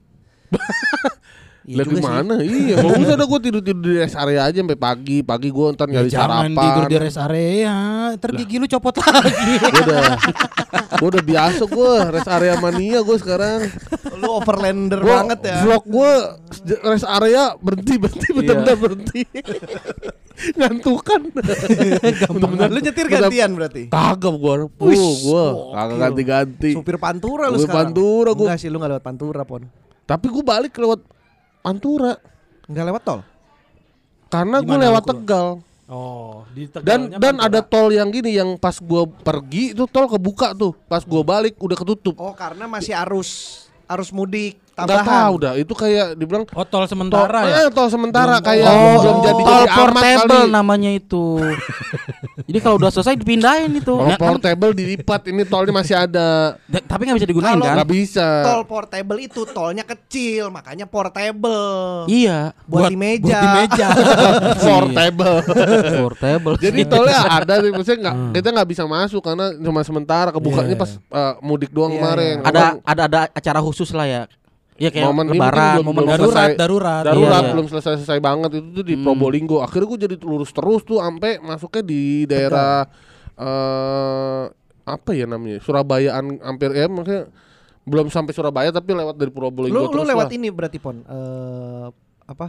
Iya Lihat juga di sih. mana? Iya, kalau usah ada gue tidur-tidur di rest area aja sampai pagi. Pagi gue ntar Ya, nyari jangan sarapan. tidur di rest area, ntar gigi lu copot lagi. Gue udah, gue udah biasa gue rest area mania gue sekarang. Lu overlander Gua, banget ya. Vlog gue rest area berhenti berhenti benar-benar berhenti. Ngantukan. Bener-bener. Lu nyetir gantian berarti. Kagak gue, Wih, uh, gue gokil. kagak ganti-ganti. Supir Pantura lu Supir sekarang. Pantura gua. Enggak sih lu enggak lewat Pantura, Pon. Tapi gue balik lewat Pantura Enggak lewat tol. karena gue Gimana lewat lu keluar? Tegal. Oh, di Dan Tegalnya dan Pantura. ada tol yang gini yang pas gue pergi itu tol kebuka tuh, pas gue balik udah ketutup. Oh, karena masih arus arus mudik Nggak tambahan. tahu dah, itu kayak dibilang Oh, tol tol, sementara ya. eh, tol sementara Belum- kayak Oh, belum jadi tol jadi amat portable kali. namanya itu. Jadi kalau udah selesai dipindahin itu. Kalau Ya, kan- portable dilipat, ini tolnya masih ada. da- tapi nggak bisa digunain Kalau kan? Nggak bisa. Tol portable itu tolnya kecil, makanya portable. Iya, Buat, di meja. Buat di meja. Portable. portable. Jadi tolnya ada, sih, maksudnya nggak kita nggak bisa masuk karena cuma sementara kebukanya Iya. pas eh, mudik doang Iya, kemarin. iya. ada Orang ada ada acara khusus lah ya. Iya kayak Momen ini lebaran, mungkin belum- momen belum darurat, selesai. darurat. darurat Iya, iya. belum selesai-selesai banget itu tuh di Hmm. Probolinggo. Akhirnya gue jadi lurus terus tuh sampai masuknya di daerah eh apa ya namanya? Surabayaan hampir ya maksudnya belum sampai Surabaya tapi lewat dari Probolinggo Lu lu terus lewat lah. ini berarti Pon. Eh apa?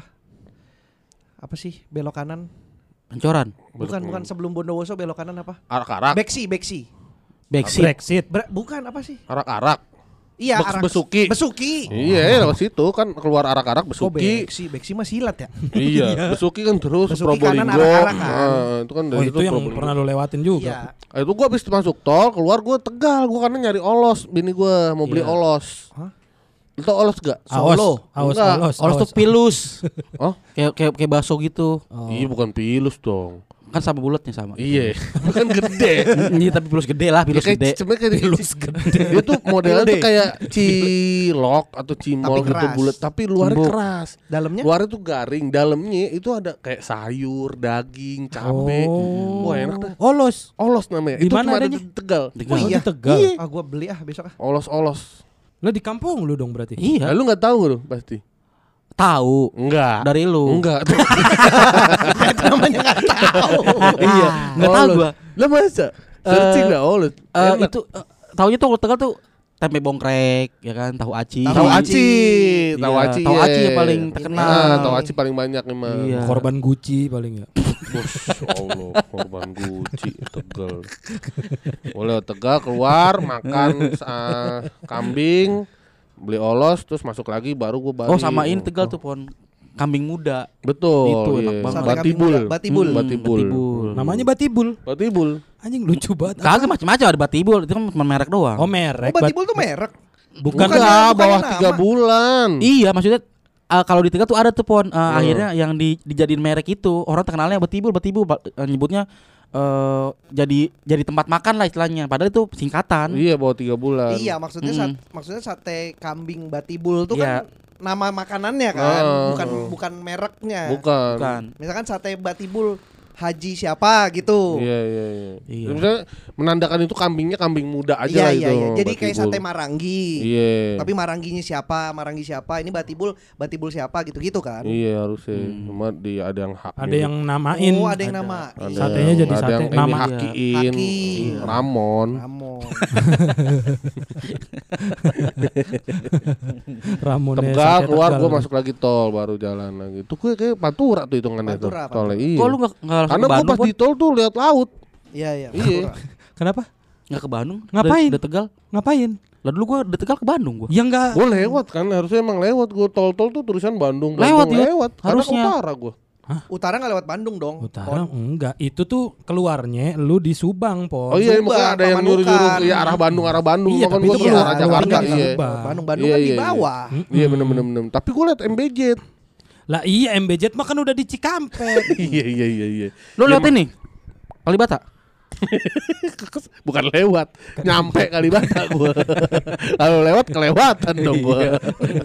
Apa sih belok kanan? Pancoran, Bukan bukan sebelum Bondowoso belok kanan apa? Arak-arak, Beksi, Beksi. backseat. Brexit. Ber- bukan apa sih? arak-arak. Iya, Bek- arah Besuki. Besuki. Iya, lewat situ kan keluar arak-arak Oh, Besuki. Beksi, Beksi mah silat ya. Iya, Besuki kan terus Besuki kanan, Probolinggo. arak-arak kan. Nah, itu kan Oh, dari itu yang Probolinggo. pernah lu lewatin juga. Iya. Ah, itu gua habis masuk tol, keluar gua Tegal, gua karena nyari olos, bini gua mau beli Iya. olos. Hah? Lu tau olos gak? Aos, Solo. aos, Enggak. aos, Olos tuh pilus. Oh, kayak kayak kayak bakso gitu. Oh. iya bukan pilus dong. Kan sama bulatnya sama. Iya, kan gede. Iya tapi pilus gede lah, Ya, pilus kayak gede. sebenarnya kayak pilus gede. Dia tuh modelnya tuh kayak cilok atau cimol Tapi gitu keras. bulat, tapi luarnya Empuk. keras. Dalamnya Luarnya tuh garing, dalamnya itu ada kayak sayur, daging, cabe. Oh. Wah, enak dah. Olos. Olos namanya. Di Itu mana cuma ada adanya? di Tegal. Tegal. Oh, iya. di Tegal. Iya. ah gua beli ah besok ah. Olos-olos. Lah di kampung lu dong berarti. Iya, Nah, lu nggak tahu lu pasti? tahu Enggak. dari lu. Enggak. Namanya enggak tahu. Iya, Nggak tahu gua. Lah masa? Searching dah olos. Eh, Enak. itu eh, taunya tuh kalau Tegal tuh tempe bongkrek, ya kan, tahu aci. Tahu aci, Iya, tahu aci. tahu iya. aci yang paling terkenal. Nah, tahu aci paling banyak emang. Iya. Korban Gucci paling ya. Masya Allah, korban Gucci Tegal. Boleh Tegal keluar makan uh, kambing, beli olos terus masuk lagi baru gua balik. Oh, sama ini Tegal tuh pon kambing muda. Betul. Itu iya. enak banget. Sate kambing Batibul. muda, Batibul. Hmm, Batibul. Batibul. Namanya Batibul. Batibul. Anjing lucu banget. Kagak macam-macam ada batibul, itu kan cuma merek doang. Oh, merek. Oh, Batibul tuh merek. Bukan Bukan. Enggak, bukannya bawah nama. tiga bulan. Iya, maksudnya eh, kalau di Tegal tuh ada tuh pon eh, Hmm. akhirnya yang di, dijadiin merek itu orang terkenalnya batibul, batibul ba- eh, nyebutnya eh, jadi jadi tempat makan lah istilahnya. Padahal itu singkatan. Iya, bawah tiga bulan. Iya, maksudnya Mm. sat- maksudnya sate kambing Batibul tuh Iya. kan nama makanannya kan, Ah. bukan bukan mereknya. Bukan. Bukan. Misalkan sate Batibul Haji siapa gitu. Iya, iya, iya. Iya. Misalnya menandakan itu kambingnya kambing muda aja Iya lah iya itu. iya. Jadi kayak Batibul. sate Maranggi. Iya. Tapi Marangginya siapa? Maranggi siapa? Ini Batibul, Batibul siapa gitu-gitu kan. Iya harusnya. Hmm. Cuma di ada yang hak. Ada yang namain. Oh, ada yang nama. Ada Satenya yang- jadi ada sate yang ini nama. hakiin. Haki. Iya. Ramon. Ramon. Ramonnya Tegal sate keluar Tegal. gua masuk lagi tol baru jalan lagi. Tuh gue kayak Pantura tuh hitungannya tuh. Pantura, Tolnya iya. Kok lu enggak enggak langsung Karena ke gua Bandung? pas Pon? di tol tuh lihat laut. Iya iya. Iya. Pantura. Kenapa? Nggak ke Bandung? Ngapain? Dari Tegal. Ngapain? Lah dulu gua dari Tegal ke Bandung gua. Ya enggak. Gue lewat kan harusnya emang lewat gue tol-tol tuh tulisan Bandung. Lewat, Bandung iya. lewat. Karena Harusnya. ke utara gue. Utara nggak lewat Bandung dong. Utara Pon. enggak, itu tuh keluarnya lu di Subang, Pon. Oh iya, Subang, mungkin ada yang Pamanukan. nyuruh-nyuruh ya arah Bandung, arah Bandung. Iya, Kan tapi gua itu ke keluar arah Jakarta, Jakarta. nggak Iya. Subang. Bandung Bandung Iya, kan di iya, iya. bawah. Iya bener-bener. Tapi gue liat M B J. Lah iya M B J mah kan udah di Cikampek. Iya iya iya iya. Lu lihat ini Kalibata. Bukan lewat, nyampe Kalibata gua. Kalau lewat kelewatan dong gua.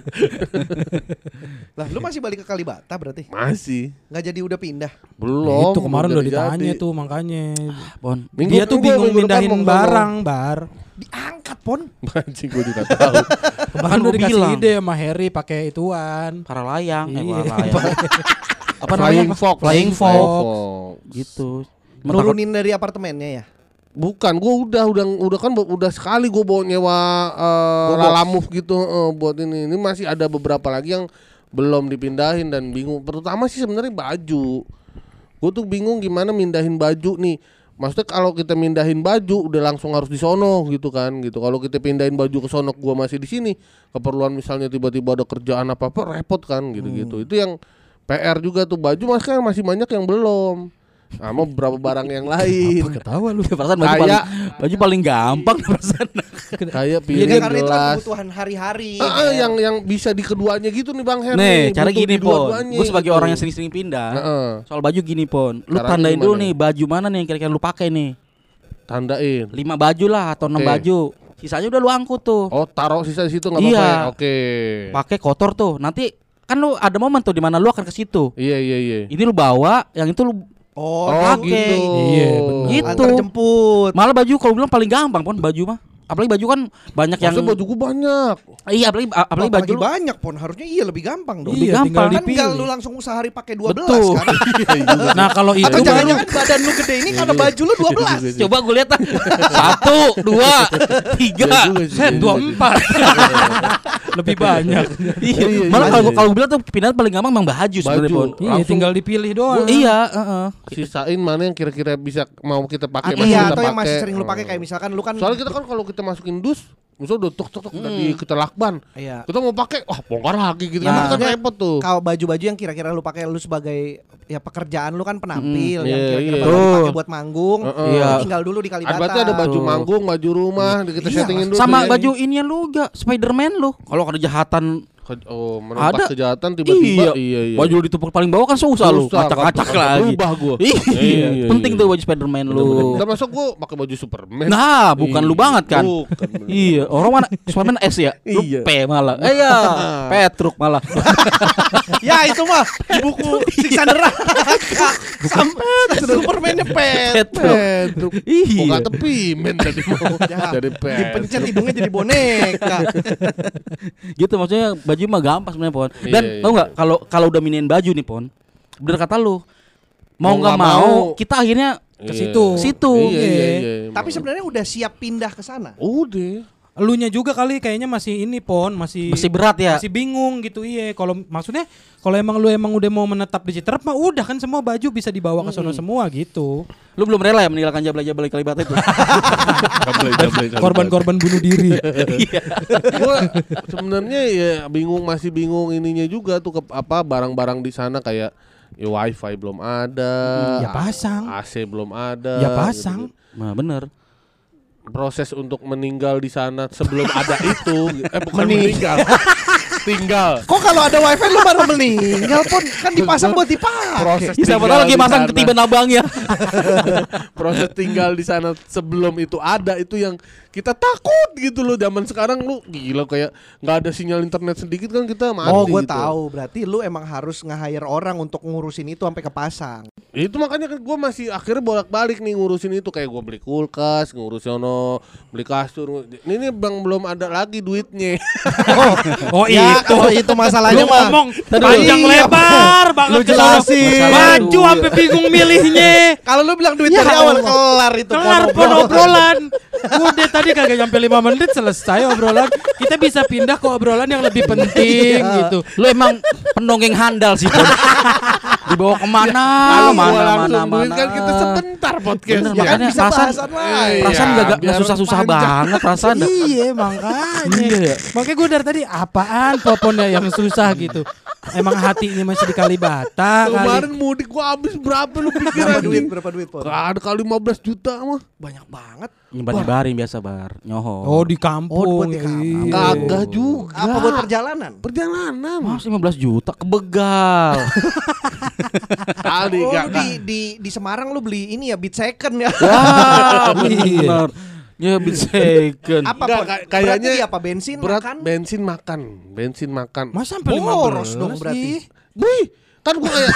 Lah lu masih balik ke Kalibata berarti? Masih. Nggak jadi udah pindah. Belum. Itu kemarin udah jadi. ditanya tuh makanya. Bon. Minggu- Dia tuh minggu- bingung minggu depan mindahin mau ke barang, Bar. Diangkat Pon. Anjing gua juga tahu. Bahkan lu udah dikasih bilang. ide sama Harry pakai ituan. Para layang, eh Iya. para layang. Apa Flying namanya? Fox. Flying Fox. Fox. Gitu. Nurunin dari apartemennya ya. Bukan, gua udah udah udah kan udah sekali gua bawa nyewa uh, Gobos. Lalamove gitu uh, buat ini. Ini masih ada beberapa lagi yang belum dipindahin dan bingung. Terutama sih sebenarnya baju. Gua tuh bingung gimana mindahin baju nih. Maksudnya kalau kita mindahin baju udah langsung harus di sono gitu kan gitu. Kalau kita pindahin baju ke sono gua masih di sini, keperluan misalnya tiba-tiba ada kerjaan apa-apa repot kan gitu-gitu. Itu yang P R juga tuh, baju masih masih banyak yang belum. Sama beberapa barang yang lain. Ketawa lu. Perasaan baju Kayak- paling baju paling gampang perasaan. Kayak Iya piring karena itu kan gelas. kebutuhan hari-hari. Ah, ah, Her. yang yang bisa di keduanya gitu nih Bang Her. Nih, cara butuh gini di Pon. dua-duanya Gue sebagai gitu. orang yang sering-sering pindah. Heeh. Soal baju gini Pon. Lu Caranya tandain dulu gimana? nih baju mana nih yang kira-kira lu pakai nih. Tandain. Lima baju lah atau enam Oke. baju. Sisanya udah lu angkut tuh. Oh, taruh sisa di situ enggak Iya. apa-apa ya? Oke. Pakai kotor tuh. Nanti kan lu ada momen tuh di mana lu akan ke situ. Iya, iya, iya. Ini lu bawa, yang itu lu Oh, Oh, pakai. gitu. Iya, benar. Gitu. antar jemput. malah baju kalau bilang paling gampang Pon baju mah. Apalagi baju kan banyak yang Maksudnya baju gua banyak. Iya, apalagi apalagi Apalagi baju lu banyak Pon, harusnya iya lebih gampang dong. Lebih Iya, tinggal gampang. Kan dipilih. enggak lu langsung sehari pakai dua belas Betul. kan. Nah, kalau itu Atau baru jangan-jangan badan lu gede ini karena baju lu dua belas. Coba gue lihat ah. Satu, dua, tiga. Iya juga sih. set dua puluh empat. Lebih banyak. Iya. iya, Malah iya. kalau gua- kalau gue bilang tuh pindahan paling gampang memang baju sebenarnya Baju. Pon. Iya, Langsung- tinggal dipilih doang. Iya, heeh. Sisain mana yang kira-kira bisa mau kita pakai Ah, masih Iya, kita atau yang masih pakai. sering lu pakai kayak misalkan lu kan Soalnya kita kan kalau kita masukin dus, misalnya udah tuk tuk tuk udah di kita lakban. iya. Kita mau pakai, wah bongkar lagi gitu. Ya, Nah, kan maksudnya repot tuh. Kalau baju-baju yang kira-kira lu pakai lu sebagai ya pekerjaan lu kan penampil Hmm, yang iya, kira-kira iya. bakal Tuh. dipakai buat manggung. Heeh. Iya. Tinggal dulu di Kalibata. Berarti ada baju Tuh. manggung, baju rumah, kita Iya, settingin dulu. Sama tuh. baju inian lu juga Spiderman lu. Kalau ada kejahatan Ke- Oh, menempas Ada. kejahatan tiba-tiba. Iya, iya. Baju lu ditumpuk paling bawah kan susah, lu. Susah, Ngacak-ngacak kan, lagi. berubah gua. Iya. Iya, Penting iya. tuh baju Spiderman lu. Udah masuk gua pakai baju Superman. Nah, bukan lu banget kan? Bukan, bener. Iya, orang mana Spiderman S ya? Lu Iya. P malah. Eh ya, Petruk malah. Ya itu mah di buku Siksa Neraka. Sampai Superman-nya pet. Petruk. Petruk. Iya. Kok kata pimen tadi mau Ya, jadi pet. dipencet hidungnya jadi boneka. Gitu maksudnya baju mah gampang sebenarnya Pon. Iya, Dan iya. tau nggak kalau kalau udah miniin baju nih Pon, bener kata lu, mau Mau nggak nggak mau, mau. kita akhirnya Ke Iya. situ. situ. Iya, iya, iya. Tapi sebenarnya udah siap pindah ke sana. udah. Elunya juga kali kayaknya masih ini Pon, masih Masih berat ya. Masih bingung gitu iya. Kalau maksudnya kalau emang lu emang udah mau menetap di Citerap mah udah kan semua baju bisa dibawa ke sono semua gitu. Lu belum rela ya meninggalkan Jabla-Jabla Kalibata itu? Korban-korban bunuh diri. Gua sebenarnya ya bingung, masih bingung ininya juga tuh ke apa barang-barang di sana kayak ya wifi belum ada. Ya pasang. A C belum ada. Ya pasang. gitu-gitu. Nah, bener. Proses untuk meninggal di sana sebelum ada itu eh bukan meninggal. Tinggal. Kok kalau ada wifi lu baru meninggal Pon? Kan dipasang buat dipakai. Proses Ya, siapa tinggal tahu lagi di masang sana. ketiban abangnya. Proses tinggal di sana sebelum itu ada itu yang kita takut gitu loh. Zaman sekarang lu gila kayak nggak ada sinyal internet sedikit kan kita mati. Oh, gue gitu. tahu. Berarti lu emang harus nge-hire orang untuk ngurusin itu sampai kepasang. Ya itu makanya kan gue masih akhirnya bolak-balik nih ngurusin itu, kayak gue beli kulkas, ngurus sono, beli kasur. Ini nih bang belum ada lagi duitnya. Oh Ya, itu. kalau itu masalahnya Lu mah. ngomong Tadi panjang lu- lebar banget Lu ke sono. jelasin. Baju sampai bingung milihnya. Kalau lu bilang duit Ya dari awal Allah. kelar itu Kelar pon obrolan. Udah tadi kagak nyampe lima menit selesai obrolan. Kita bisa pindah ke obrolan yang lebih penting gitu. Lu emang pendongeng handal sih Pon. Dibawa kemana? Kalau mana gua mana langsung mana. duit kan kita sebentar podcast. Bener, Ya kan makanya bisa perasaan bahasan lain. perasaan Iya, gak, gak biar susah-susah panjang. banget perasaan. Iya makanya. Iya ya. Makanya gue dari tadi apaan popon ya yang susah gitu. emang hatinya masih di Kalibata Kemarin kali. mudik gua habis berapa lu pikir Berapa duit? anjing? Berapa duit, Pon? Gak ada kali lima belas juta mah. Banyak banget. Nyebar-nyebarin biasa bar, nyoho. Oh di kampung. Oh, buat di kampung. Iya. Kagak juga. Apa buat perjalanan? Perjalanan. Mas lima belas juta ke begal. Kali Oh, gak, lu di, di di Semarang lu beli ini ya beat second ya. Wah, benar. Ya bit second. Apa Enggak, Pon? kayak- kayaknya Berarti apa bensin berat makan? bensin makan, bensin makan. Masa sampai lima belas Boros dong berarti. Wih, kan gua kayak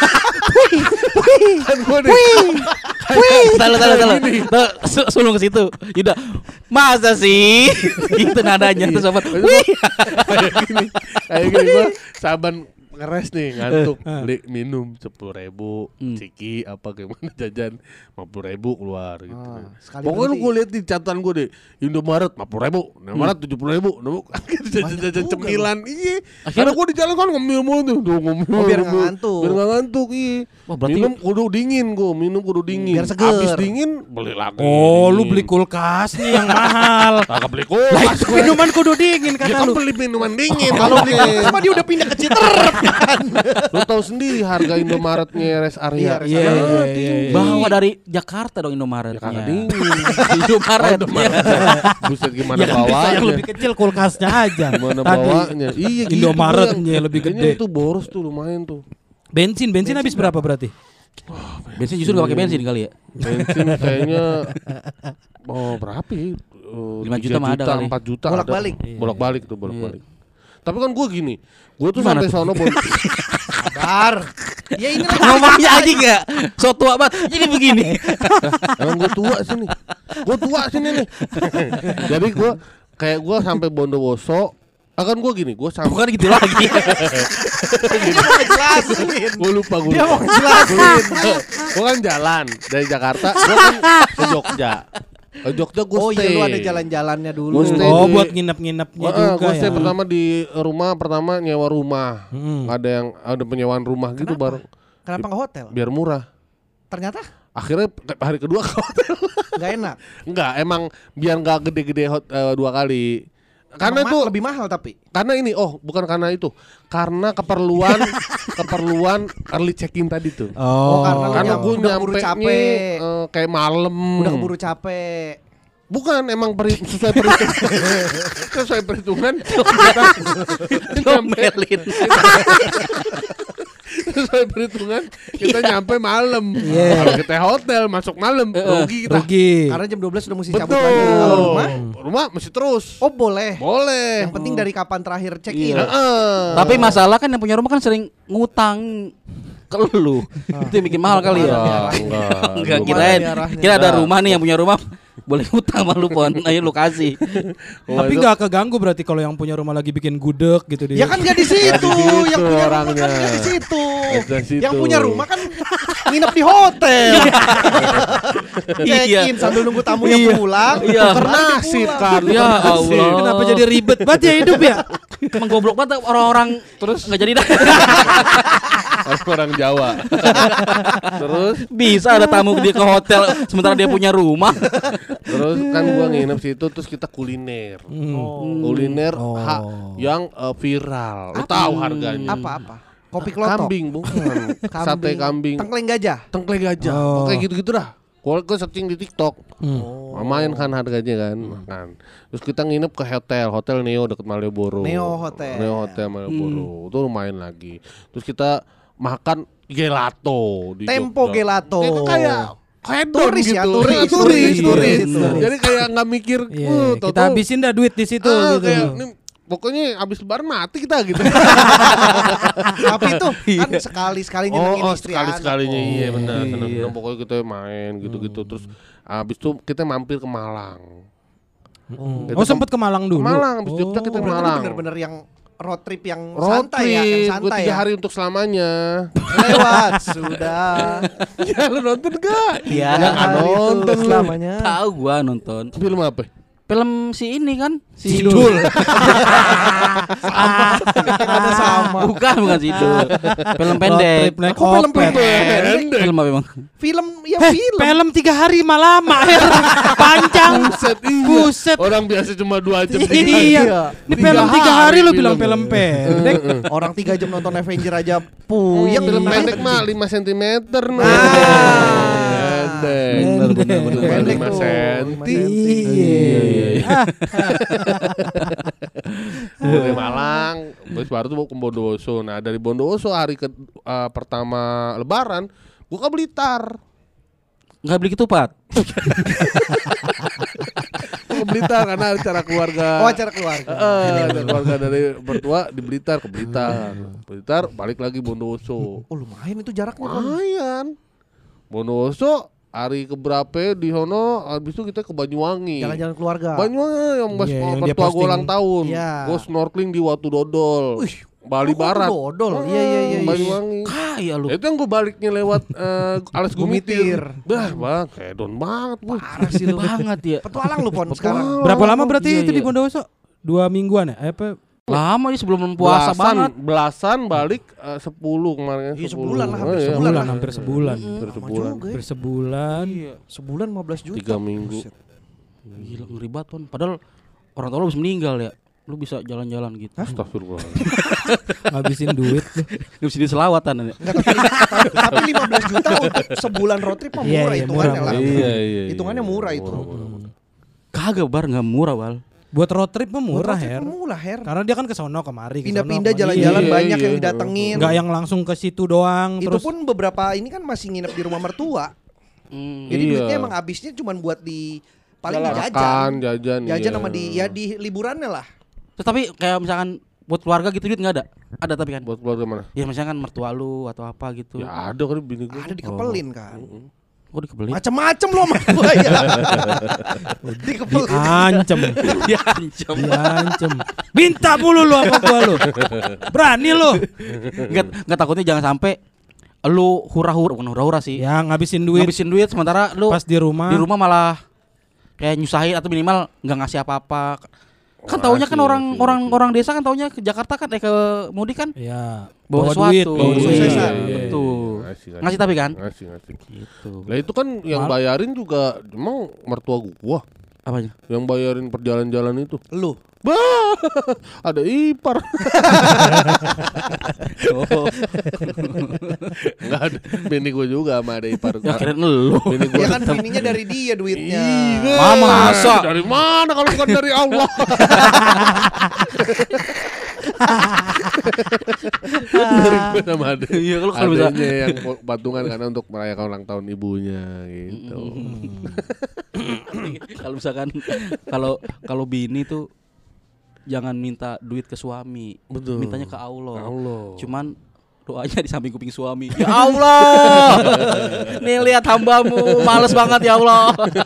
kan gua nih. Tahu tahu tahu. Tahu sulung ke situ. Yuda. Masa sih? Itu nadanya tuh sobat. Wih. Kayak gini, kayak gini gua saban ngeres nih ngantuk beli minum sepuluh ribu Hmm. ciki apa gimana jajan lima puluh ribu keluar gitu. Ah, sekali Pokoknya lu berhenti. gue lihat di catatan gue deh Indomaret lima puluh ribu, Indomaret tujuh puluh ribu, jajan jajan juga cemilan iya. Akhirnya- Karena gue di jalan kan ngemil mulu tuh, tuh ngemil. Oh, biar nggak ngemil. ngantuk. Biar nggak ngantuk iya. Wah, berarti- Minum kudu dingin gue, minum kudu dingin. Biar seger. Habis dingin beli lagi. Oh lu dingin. beli kulkas nih yang mahal. Kagak beli kulkas. gue. Minuman kudu dingin Ya kata kan lu. beli minuman dingin. Kalau beli maksudnya. sama dia udah pindah ke Citerep kan. Lu tahu sendiri harga Indomaretnya rest area. Iya, Iya, Ah, iya, tinggi. iya. Bawa dari Jakarta dong Indomaret. Ya kagak dingin. Indomaret. Buset gimana Ya kan bisa bawanya? yang lebih kecil kulkasnya aja. Gimana Tadi bawanya? Iya gitu. Indomaretnya yang- lebih kayaknya gede. itu boros tuh lumayan tuh. bensin, bensin habis berapa berarti? Bensin justru gak pakai bensin kali ya. Bensin kayaknya oh berapa ya? Oh, lima tiga juta mah ada kali. empat juta Bolak-balik. ada. Bolak-balik tuh bolak-balik. Tapi kan gue gini, gue tuh Gimana sampai tuh? sono bon- Sabar. Ya ini lagi Ngomongnya aja gak? So tua banget. Jadi begini. emang gue tua sini, gue tua sini nih. Jadi gue kayak gue sampai Bondowoso, akan gue gini, gue sampai Bukan gitu lagi. dia mau ngejelasin. gue lupa gue Dia lupa. mau ngejelasin. Gue kan jalan dari Jakarta, gue kan ke Jogja. Ke Jogja gue Oh iya stay. lu ada jalan-jalannya dulu. Gua stay Oh di- buat nginep-nginepnya Wah, juga gue stay ya. pertama di rumah, pertama nyewa rumah. Hmm. Ada yang ada penyewaan rumah gitu Kenapa? bareng, Kenapa nggak hotel? biar murah. Ternyata Akhirnya hari kedua ke hotel. nggak enak. Enggak, emang biar nggak gede-gede hot, eh, dua kali. Karena Emang itu ma- lebih mahal tapi. karena ini oh bukan karena itu, karena keperluan keperluan early check-in tadi tuh. Oh, karena lu Karena nyam- gue udah keburu nyampe capek. kayak malam. Udah keburu capek. Bukan, emang peri, sesuai perhitungan. sesuai perhitungan. kita, kita nyampe, Domelin. sesuai perhitungan kita nyampe malam. Iya. Kalau kita hotel masuk malam rugi kita. rugi. Karena jam dua belas udah mesti cabut Betul. lagi. Kalau rumah, Rumah mesti terus. oh boleh. Boleh. Yang penting dari kapan terakhir check in. Iya. Heeh. Tapi masalah kan yang punya rumah kan sering ngutang ke lu. Itu yang bikin mahal kali ya. Enggak, enggak. Enggak Belum kirain. ada arahnya. Kira ada Enggak. rumah nih yang punya rumah boleh ngutang sama lu Pon. Ayo lu kasih. Wah, Tapi itu- nggak keganggu berarti kalau yang punya rumah lagi bikin gudeg gitu dia. Ya kan nggak di situ. Nggak di situ Yang punya rumah orangnya. kan nggak di situ. Nggak di situ. Yang punya rumah kan nginep di hotel. Check Iya. in sambil nunggu tamunya Iya. pulang. Iya. Baru Nasib pulang. kan. Ya Allah. Kenapa jadi ribet banget ya hidup ya? Emang goblok banget orang-orang terus nggak jadi dah. orang Jawa. Terus Bisa ada tamu dia ke hotel sementara dia punya rumah. terus kan gua nginep situ terus kita kuliner. Hmm. Kuliner Oh. ha- yang eh, viral. Lu tahu harganya. Apa-apa? Kopi klotok. Kambing bukan. Sate kambing. Tengkleng gajah. Tengkleng gajah. Oh. Oke gitu-gitu dah. Gua gua searching di TikTok. Hmm. Lumayan kan harganya kan, makan. Terus kita nginep ke hotel, hotel Neo deket Malioboro. Neo Hotel. Neo Hotel Malioboro. Itu lumayan lagi. Terus kita makan gelato di Tempo Jogja. gelato. Itu kayak hedon Turis gitu. ya, turis, turis, turis, turis. turis. Jadi kayak nggak mikir, Iya, "Uh, kita tau-tau, habisin dah duit di situ ah, gitu. kayak, "Nih, pokoknya abis lebaran mati kita gitu." Tapi itu kan sekali-sekali nyenengin oh, oh istri sekali anak. sekalinya Oh. iya benar. Iya. seneng-seneng. Pokoknya kita main gitu-gitu. Terus abis itu kita mampir ke Malang. Kita Oh ke- sempat ke Malang dulu. Ke Malang, abis Jogja kita Oh, ke berarti lu Malang. bener-bener yang road trip yang Road santai ya, yang trip, gue santai tiga ya. hari untuk selamanya. Lewat sudah. Ya lu nonton gak? Iya. Tiga nggak hari itu nonton lu. selamanya. Tahu gua nonton. Film apa? Film si ini kan, si Sidul. Kata sama. Bukan, bukan situ. Film Road pendek. trip naik Kok film opet. pendek? Film apa memang? Film ya Eh, film. film tiga hari mah lama. Her. Panjang. Buset, iya. Buset. Orang biasa cuma dua jam. Iya. Ini Tiga film tiga hari hari lu film. bilang film pendek. Orang tiga jam nonton Avenger aja puyeng. Film Nah, pendek mah lima sentimeter nih. Ah. Pendek. Bener, bener, bener. Pendek lima tuh, senti. lima senti. Iya. Dari Malang, terus baru tuh ke Bondowoso. Nah dari Bondowoso hari ke uh, pertama Lebaran, gua ke Blitar. Enggak beli ketupat. Gua ke Blitar karena acara keluarga. Oh, acara keluarga. Eh, ada keluarga dari mertua di Blitar ke Blitar. Blitar balik lagi Bondowoso. Oh, lumayan itu jaraknya. Kon. Lumayan. Bondowoso hari keberapa di sono, habis itu kita ke Banyuwangi. Jalan-jalan keluarga. Banyuwangi yang pas Iya, yang dia mertua gua posting. ulang tahun. Iya. Gua snorkeling di Watu Dodol. Wih, Bali oh, Barat. Dodol. Iya, iya, iya. Banyuwangi. Kaya lu. Itu yang gue baliknya lewat eh, Alas Gumitir. Gumitir. Bah, bang, hedon banget bu. Parah sih lu. Banget ya. Petualang lu Pon sekarang. Berapa lama berarti Iya, itu di iya. Bondowoso? Dua mingguan ya? Eh, apa? Lama ya sebelum puasa Belasan, banget. belasan balik eh, sepuluh kemarin. Iya, sebulan lah, Oh, hampir iya. sebulan Sebulan, lah. hampir sebulan. Hampir Lama sebulan. juga ya. Hampir sebulan. Sebulan lima belas juta. Tiga minggu. Buset. Gila ngeri banget Pon. Padahal orang tua lu bisa meninggal ya. Lu bisa jalan-jalan gitu. Astagfirullah. Ngabisin duit. Lu bisa di selawatan ya. Enggak, tapi, tapi lima belas juta untuk sebulan road trip mah Iya, murah iya, hitungannya murah, lah. Iya iya. Hitungannya murah itu. Kagak bar enggak murah, Wal. Buat road trip mah murah, Road trip Her. mah Murah, Her. Karena dia kan ke sono kemari, ke sono, Pindah-pindah kemari. jalan-jalan Iya, banyak iya. yang didatengin. Enggak yang langsung ke situ doang Itu terus pun beberapa ini kan masih nginep di rumah mertua. Hmm. Jadi Iya. duitnya emang habisnya cuma buat di paling di Makan, jajan. jajan. Jajan iya. sama di ya di liburannya lah. Terus tapi kayak misalkan buat keluarga gitu duit enggak ada? Ada tapi kan. Buat keluarga mana? Ya misalkan mertua lu atau apa gitu. Ya ada kan bini gue. Ada dikepelin kan. Kok dikebeli? Macem-macem loh sama gua ya. Dikepelin. diancem. Diancam. Diancem. Minta mulu lu apa gua lu. Berani lu. Enggak enggak takutnya jangan sampai lu hura-hura, bukan hura-hura sih. Ya ngabisin duit Ngabisin duit sementara lu pas di rumah. di rumah malah kayak nyusahin atau minimal nggak ngasih apa-apa. Kan taunya kan Ngasih, orang ngasih, orang ngasih. orang desa kan taunya ke Jakarta kan eh ke mudik kan Ya, bawa, duit, sesuatu. bawa Iya, duit. iya, Iya. Betul. Ngasih, Ngasih tapi kan? Ngasih ngasih. Gitu. Lah itu kan yang Mal- bayarin juga emang mertua gua. Apanya? Yang bayarin perjalan-jalan itu. Lu. Bah, ada ipar. Oh, Enggak ada. Bini gua juga sama ada ipar. ya kirain lu. Bini gua. Ya kan bininya dari dia duitnya. Iya. Mama, masa? Dari mana kalau bukan dari Allah? Dari gua sama ada. Iya, kalau kalau bisa Adanya yang patungan karena untuk merayakan ulang tahun ibunya gitu. kalau misalkan kalau kalau bini tuh jangan minta duit ke suami. Betul. Mintanya ke Allah. Allah. Cuman doanya di samping kuping suami. Ya Allah. Nih lihat hambamu, males banget ya Allah.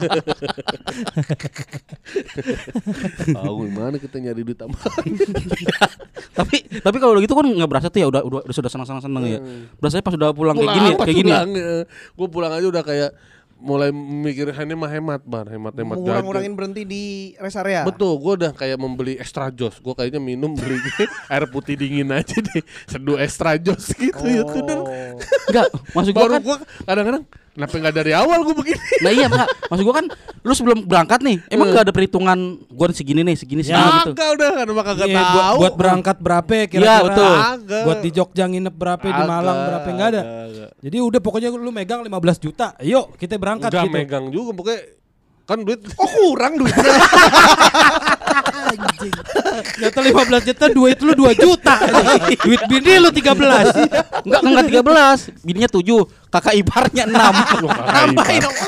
Tahu gimana kita nyari duit tambahan. tapi tapi kalau gitu kan nggak berasa tuh ya udah udah, udah sudah senang-senang seneng ya. Berasanya pas udah pulang, kayak gini ya, kayak gini. Gue pulang aja udah kayak mulai mikir ini mah hemat bar, hemat-hemat Ngurang-ngurangin berhenti di rest area. Betul, gue udah kayak membeli extra jos. Gue kayaknya minum beli air putih dingin aja deh, seduh extra jos gitu ya tuh. Oh. Enggak, maksud gua Baru kan gue kadang-kadang kenapa nggak dari awal gue begini? nah iya enggak, maksud gua kan lu sebelum berangkat nih, emang enggak ada perhitungan gua segini nih, segini segini gitu. Kagak udah kan maka kagak Iya, buat, tahu. buat berangkat berapa kira-kira? Iya, betul. Kagak. Buat di Jogja nginep berapa, di Malang Kagak, berapa, enggak ada. kagak. Jadi udah pokoknya lu megang lima belas juta. Yuk, kita berangkat Enggak gitu. megang juga pokoknya kan duit. Oh kurang duitnya. Nyata lima belas juta, duit lu dua juta. Duit bini lu tiga belas. Enggak, enggak tiga belas, bininya tujuh, kakak iparnya enam. Nambahin dong.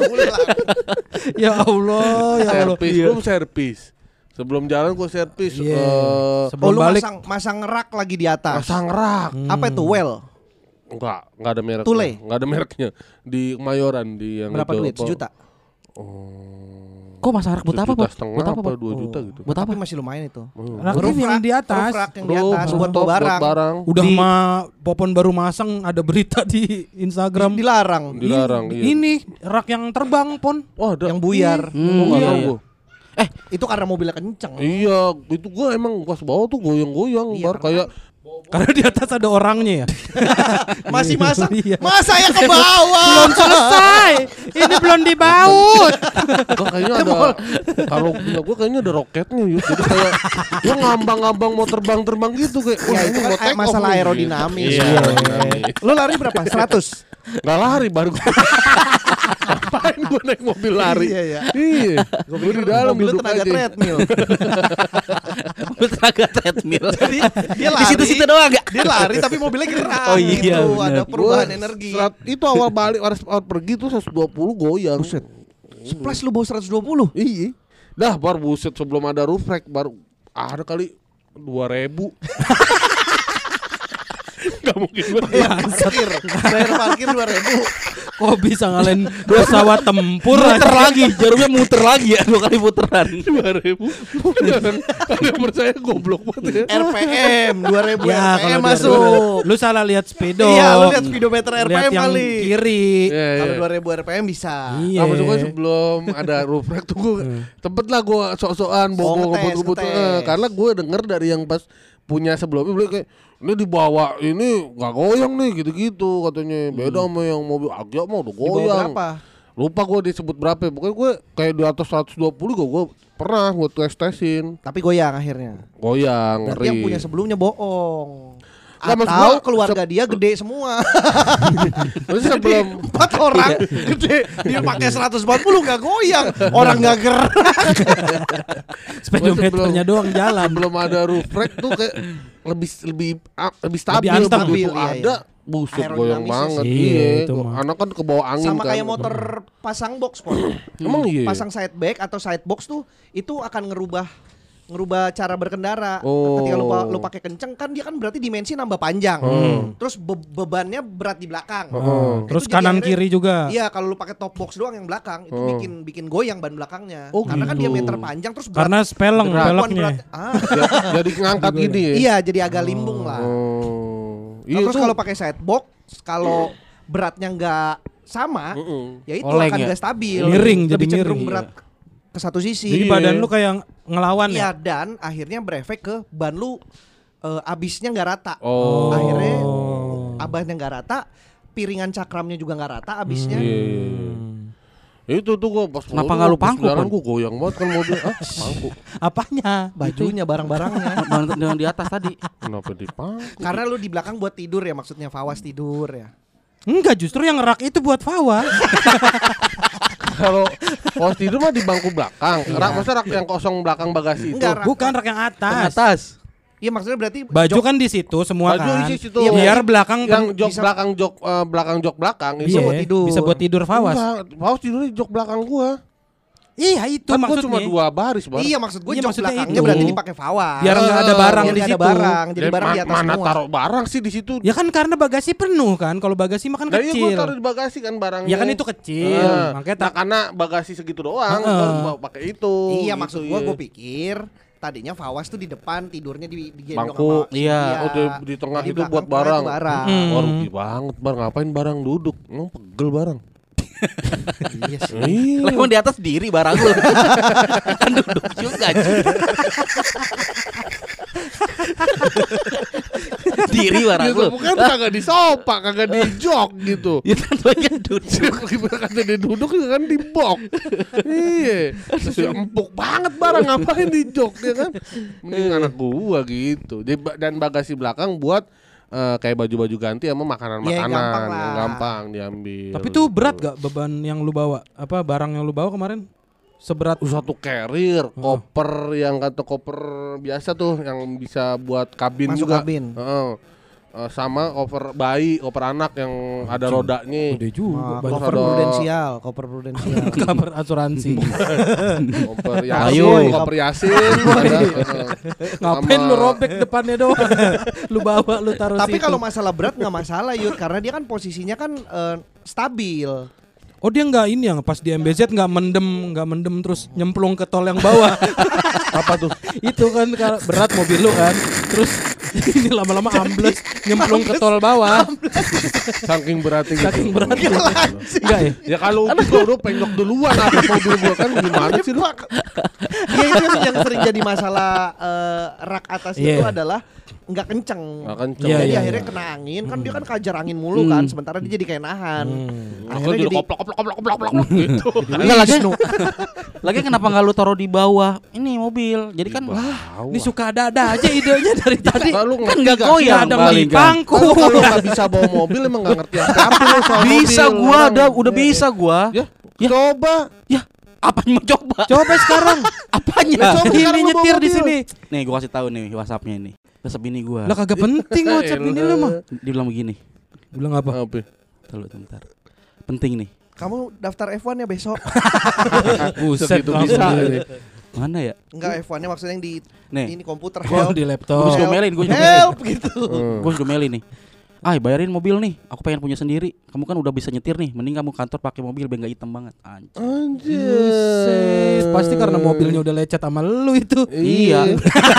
Ya Allah, ya Allah. Servis, belum servis. Sebelum jalan gue servis. Iya. eh, Sebelum Oh lu balik masang masang rak lagi di atas. pasang rak. Apa itu well? Enggak, enggak ada mereknya. Tule? Enggak ada mereknya. Di Kemayoran di yang Berapa itu, duit? apa- Sejuta. Oh. Kok masak rak buat apa, Sejuta Pak? setengah Buat apa, apa Pak? dua juta gitu. Buat apa? Tapi masih lumayan itu. rakit Roof yang rack, di atas. roof rack yang di Roof, atas buat rooftop, bawa barang. barang. Udah Di- mah Popon baru masang ada berita di Instagram. Dilarang. Dilarang, iya. Ini rak yang terbang, Pon. Oh, ada. Yang buyar. Hmm, Oh, nggak iya. tahu gua. Eh, Itu karena mobilnya kenceng. Iya, itu gua emang pas bawah tuh goyang-goyang, Iya, bar kayak Karena di atas ada orangnya ya. Masih masa Iya. masa ya ke bawah. Belum selesai. Ini belum dibaut. gua kayaknya ada kalau punya gua kayaknya ada roketnya yuk. Jadi kayak gua ngambang-ngambang mau terbang-terbang gitu kayak Ya itu kan take off masalah nih. aerodinamis. Iya. Ya. Lu lari berapa? seratus. Nggak lari baru gua. Ngapain gua naik mobil lari? Iya, iya. Iya. Gua di dalam mobil duduk tenaga aja. treadmill. mobil tenaga treadmill. Jadi dia Di lari. situ-situ doang gak? Dia lari tapi mobilnya gerak. Oh iya, gitu. bener. Ada perubahan Gua energi. serat- itu awal balik awal, awal pergi tuh seratus dua puluh goyang. Buset. Splash lu bawa seratus dua puluh. Iya. Dah baru buset sebelum ada roof rack baru ada kali dua ribu. Gak mungkin gue Parkir. Bayar parkir dua ribu. Kok bisa ngalahin pesawat tempur Muter aja? lagi, jarumnya muter lagi ya, dua kali puteran. dua ribu. Beneran. Ada yang percaya goblok banget ya. R P M dua ribu Ya, R P kalau M dia- masuk. Lu salah lihat speedo. Iya, lu lihat speedometer R P Lihat M yang kali. kiri. Iya, iya. Kalau dua ribu R P M bisa. Iya. Nah, maksud gue sebelum ada roof rack tuh gue tempet lah gue sok-sokan Oh, bawa ngetes, ngebut-ngebut ngetes. eh, karena gue denger dari yang pas punya sebelumnya beli kayak ini dibawa ini nggak goyang nih gitu-gitu katanya beda sama yang mobil Agya mah udah Di bawah goyang. berapa? Lupa gue disebut berapa, pokoknya gue kayak di atas seratus dua puluh gue, gue pernah gue tes tesin Tapi goyang akhirnya. goyang Berarti ngeri. yang punya sebelumnya bohong. Nggak, maksud Atau gua, keluarga dia gede semua. Terus sebelum Empat orang gede dia pakai seratus empat puluh nggak goyang. Orang nggak gerak. Speedometernya doang jalan. belum ada roof rack tuh kayak lebih lebih ah, lebih stabil anteng. begitu Stabil, iya, ada iya. busuk Aerodinamisnya goyang banget sih. iya Iya, itu mah. anak kan ke bawah angin Sama kan. kayak motor pasang box kok. Emang iya? Pasang side back atau side box tuh itu akan ngerubah ngerubah cara berkendara. Oh. Ketika lu pa- lu pakai kenceng kan dia kan berarti dimensi nambah panjang. Hmm. Terus be- bebannya berat di belakang. Oh. Itu Terus jadi kanan akhirnya- kiri juga. Iya, kalau lu pakai top box doang yang belakang itu Oh. bikin bikin goyang ban belakangnya. Oh, Karena kan gitu. diameter panjang terus berat. Karena speleng Berat. peleknya. berat. Ah, Ya, jadi ngangkat gini ya iya, jadi agak limbung lah. oh Nah, iya terus tuh. kalau pakai side box, kalau beratnya nggak sama, Mm-mm. ya itu Oleng akan ya? nggak stabil. Miring, Lebih jadi cenderung miring, berat ke satu sisi. Jadi Iya. badan lu kayak ngelawan Iya, ya. dan akhirnya berefek ke ban lu eh, abisnya nggak rata. Oh. Akhirnya Oh. abasnya nggak rata, piringan cakramnya juga nggak rata abisnya. Iya. Itu tuh gua pas Kenapa nggak lu pangku, Sekarang Pon? gua goyang banget kan mobil. Ah, pangku. Apanya? Bajunya, barang-barangnya. Ban dengan di atas tadi. Kenapa dipangku? Karena lu di belakang buat tidur ya, maksudnya Fawas tidur ya. Enggak, justru yang rak itu buat Fawas. Kalau pos tidur mah di bangku belakang. Rak masa rak yang kosong belakang bagasi itu. Enggak, rak. Bukan rak yang atas. Atas. Iya, maksudnya berarti Baju jok- kan di situ semua Baju kan. isi situ. Iya, biar belakang yang jok bisa- belakang jok eh, belakang jok belakang Iya, itu buat tidur. bisa buat tidur Fawas. Enggak, Fawas tidurnya di jok belakang gua. Iya, itu Kan gua maksudnya. cuma dua baris, Bar. Iya, maksud gue Iya, jok maksudnya belakangnya itu. berarti dipakai Fawas. Biar nggak ada Eh, barang Biar di nggak ada situ. barang, jadi Dan barang di ma- atas mana semua. taruh barang sih di situ? Ya kan karena bagasi penuh kan. Kalau bagasi makan Nah, iya gua kecil. taruh di bagasi kan barangnya. Ya kan itu kecil. Eh, Makanya nah, tak karena bagasi segitu doang, Heeh. gua bawa pakai itu. Iya, gitu, maksud gua iya. gue pikir tadinya Fawas tuh di depan, tidurnya di digendong Bangku. sama Iya. Oh, di, di tengah Jadi itu belakang buat tengah barang. itu barang. Mm. Wah, rugi banget, Bar. Ngapain barang duduk? Emang pegel barang. Iya sih. Iya. Lah emang di atas diri barang lu. Kan duduk juga. Ji. Diri barang Ya, lu. bukan kagak di sofa, kagak di jok gitu. Ya kan banyak duduk. Kata dia duduk juga kan di box. Iya. Terus ya empuk banget barang ngapain di jok dia kan. Mending anak gua gitu. Jadi ba- dan bagasi belakang buat eh, kayak baju-baju ganti sama makanan-makanan Iya, yang gampang lah. yang gampang diambil. Tapi tuh berat gitu. gak beban yang lu bawa? Apa barang yang lu bawa kemarin? Seberat Satu carrier, koper yang kata koper biasa tuh yang bisa buat kabin Masuk juga. kabin. Heeh. Eh, sama koper bayi, koper anak yang ada rodanya. gede juga. Nah, Banyak cover ada- prudensial, cover prudensial. kabar asuransi. Koper Ayo. Yasin, koper Yasin. ada, heeh. Ngapain Sama- lu robek depannya doang? Lu bawa lu taruh Tapi situ. kalau masalah berat nggak masalah Yud, karena dia kan posisinya kan eh, stabil. Oh dia nggak ini yang pas di M B Z nggak mendem nggak mendem terus nyemplung ke tol yang bawah. Apa tuh? Itu kan kalau berat mobil lu kan. Terus ini lama-lama ambles nyemplung ke tol bawah. Saking beratnya gitu. Saking berat. Enggak ya? Ya kalau itu gua udah penyok duluan atas mobil gua kan gimana sih lu? Iya itu yang- yang sering jadi masalah eh, rak atas itu Iya. adalah nggak kenceng. Nggak kenceng. Iya, Jadi iya, akhirnya iya. kena angin kan dia kan kajar angin mulu kan, sementara dia jadi kayak nahan. Aku Akhirnya jadi jadi koplok koplok koplok koplok koplok gitu. Enggak lagi. Lagi kenapa enggak lu taruh di bawah ini mobil? Jadi kan Ini suka ada-ada aja idenya dari tadi. Kalau kan ngerti nggak nggak goyang Nggak ada paling kan. melipangku. Kalau kalau nggak bisa bawa mobil emang nggak ngerti apa-apa lu soal Bisa mobil. gua Orang- ada udah bisa gua. Ya, Ya. coba. Ya, apanya mau coba? Coba sekarang. Apanya? Ya, coba. Ini sekarang lu bawa nyetir di mobil. sini. Nih gua kasih tahu nih WhatsApp-nya ini. WhatsApp bini gua. Lah kagak penting WhatsApp ini lu mah. Dia bilang begini. Bilang apa? Apa? Tunggu bentar. Penting nih. kamu daftar F satu ya besok. Buset Segitu langsung bisa di- ini. Mana ya? Enggak F satu-nya maksudnya yang di Nih. ini komputer Oh, help. di Gua laptop. bisa Help, gomelin, gua bisa help gitu. Hmm. Gue juga meli nih. Ay bayarin mobil nih. Aku pengen punya sendiri. Kamu kan udah bisa nyetir nih. Mending kamu kantor pakai mobil biar nggak hitam banget. Anjir. Buset. Pasti karena mobilnya udah lecet sama lu itu. Iya.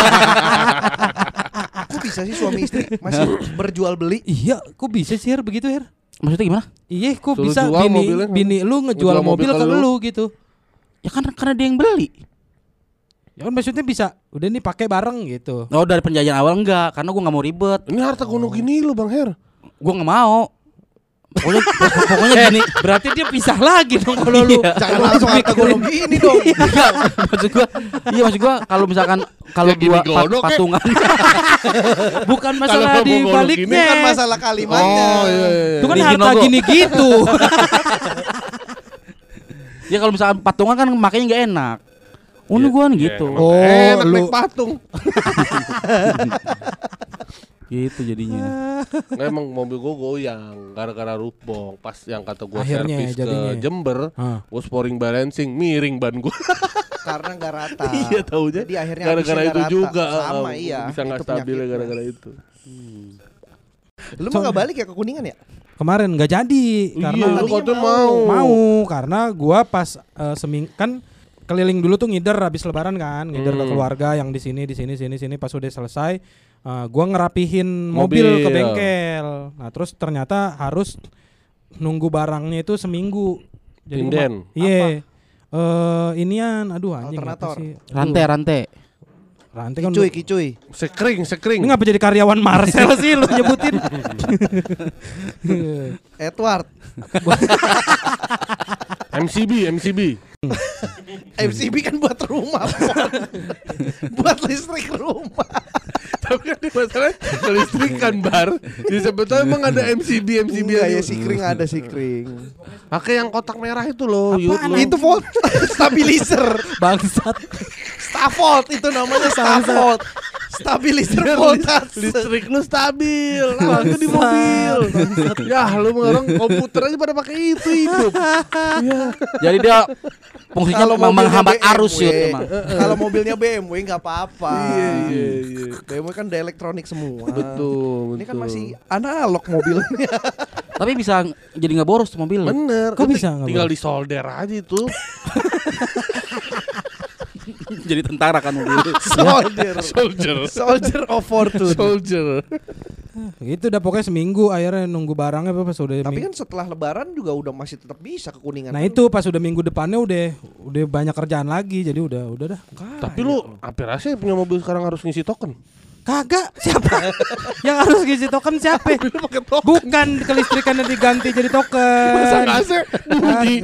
Kok bisa sih suami istri masih berjual beli? Iya, kok bisa sih Her begitu Her? Maksudnya gimana? Iya, kok Suruh bisa jual bini mobilnya. bini lu ngejual Ngejual mobil, mobil ke ke lu gitu. Ya kan karena dia yang beli. Ya kan maksudnya bisa udah nih pakai bareng gitu. Oh dari penjajahan awal enggak, karena gue nggak mau ribet. Ini harta gono gini lu Bang Her. Gue nggak mau. Pokoknya, pokoknya gini. Berarti dia pisah lagi dong kalau lu. Iya. Jangan langsung harta gono gini dong. Enggak, maksud gua, iya maksud gua kalau misalkan kalau Ya gini gua pat- godok, ya. patungan, Bukan Kalau masalah mau di ngolok baliknya. gini Kan masalah kalimatnya. Oh iya iya. Itu kan Di harta Ginogo. gini gitu. ya kalau misalkan patungan kan makanya nggak enak. Oh ini gua kan gitu, Emang Oh, enak lu- naik patung. gitu jadinya. Nggak, emang mobil gua goyang gara-gara rupong. Pas yang kata gua Akhirnya servis jadinya. ke Jember, Hah. gua sporing balancing, miring ban gua. Karena nggak rata. Iya taunya. Jadi akhirnya gara-gara habisnya itu nggak rata. juga Sama eh, iya. bisa nggak Itu stabil penyakitnya. gara-gara itu. Lu mah nggak balik ya ke Kuningan ya? Kemarin nggak jadi karena Iya, lu tadinya katanya mau. mau. mau karena gua pas eh, seming kan keliling dulu tuh ngider habis lebaran kan, ngider ke Hmm. keluarga yang di sini di sini sini sini pas udah selesai eh, gua ngerapihin mobil, Mobil. ke bengkel. Nah, terus ternyata harus nunggu barangnya itu seminggu. Inden. kema- Iya. Eh inian, aduh anjing apa Alternator. sih? Aduh, Rantai rantai. rantai kan. Kicuy, kicuy. Sekring, sekring. Ini ngapa jadi karyawan Marcel sih lu nyebutin? Edward. M C B, M C B. M C B kan buat rumah. Pon. Buat listrik rumah. Tapi kan di masalahnya kelistrikan bar. Di sebetulnya emang ada M C B, M C B Enggak aja. ya si kring ada si kring. Pakai yang kotak merah itu loh, Yud, Apaan lu. Itu volt stabilizer. Bangsat. Stavolt itu namanya Stavolt. Stabilizer Biar voltase. listrik lu stabil. Nah, itu di mobil. Ya, lu orang komputer aja pada pakai itu hidup. Jadi dia fungsinya Kalau memang mobilnya menghambat B M W, arus ya emang. Kalau mobilnya B M W nggak apa-apa. Iya, iya, iya. B M W kan udah elektronik semua. Betul, Ini kan betul. masih analog mobilnya. Tapi bisa jadi nggak boros tuh mobil. Bener. Kok Itu bisa nggak tinggal boleh? di solder aja itu. Jadi tentara kan mobil. Soldier. Soldier. Soldier of Fortune. Soldier. Gitu udah pokoknya seminggu akhirnya nunggu barangnya pas udah Tapi ming- kan setelah lebaran juga udah masih tetap bisa ke Kuningan. Nah Kan itu pas udah minggu depannya udah udah banyak kerjaan lagi jadi udah udah dah. Tapi lu hampir aja punya mobil sekarang harus ngisi token. Kagak siapa yang harus ngisi token siapa? Pakai token. Bukan kelistrikannya diganti jadi token. Masa nggak sih bunyi?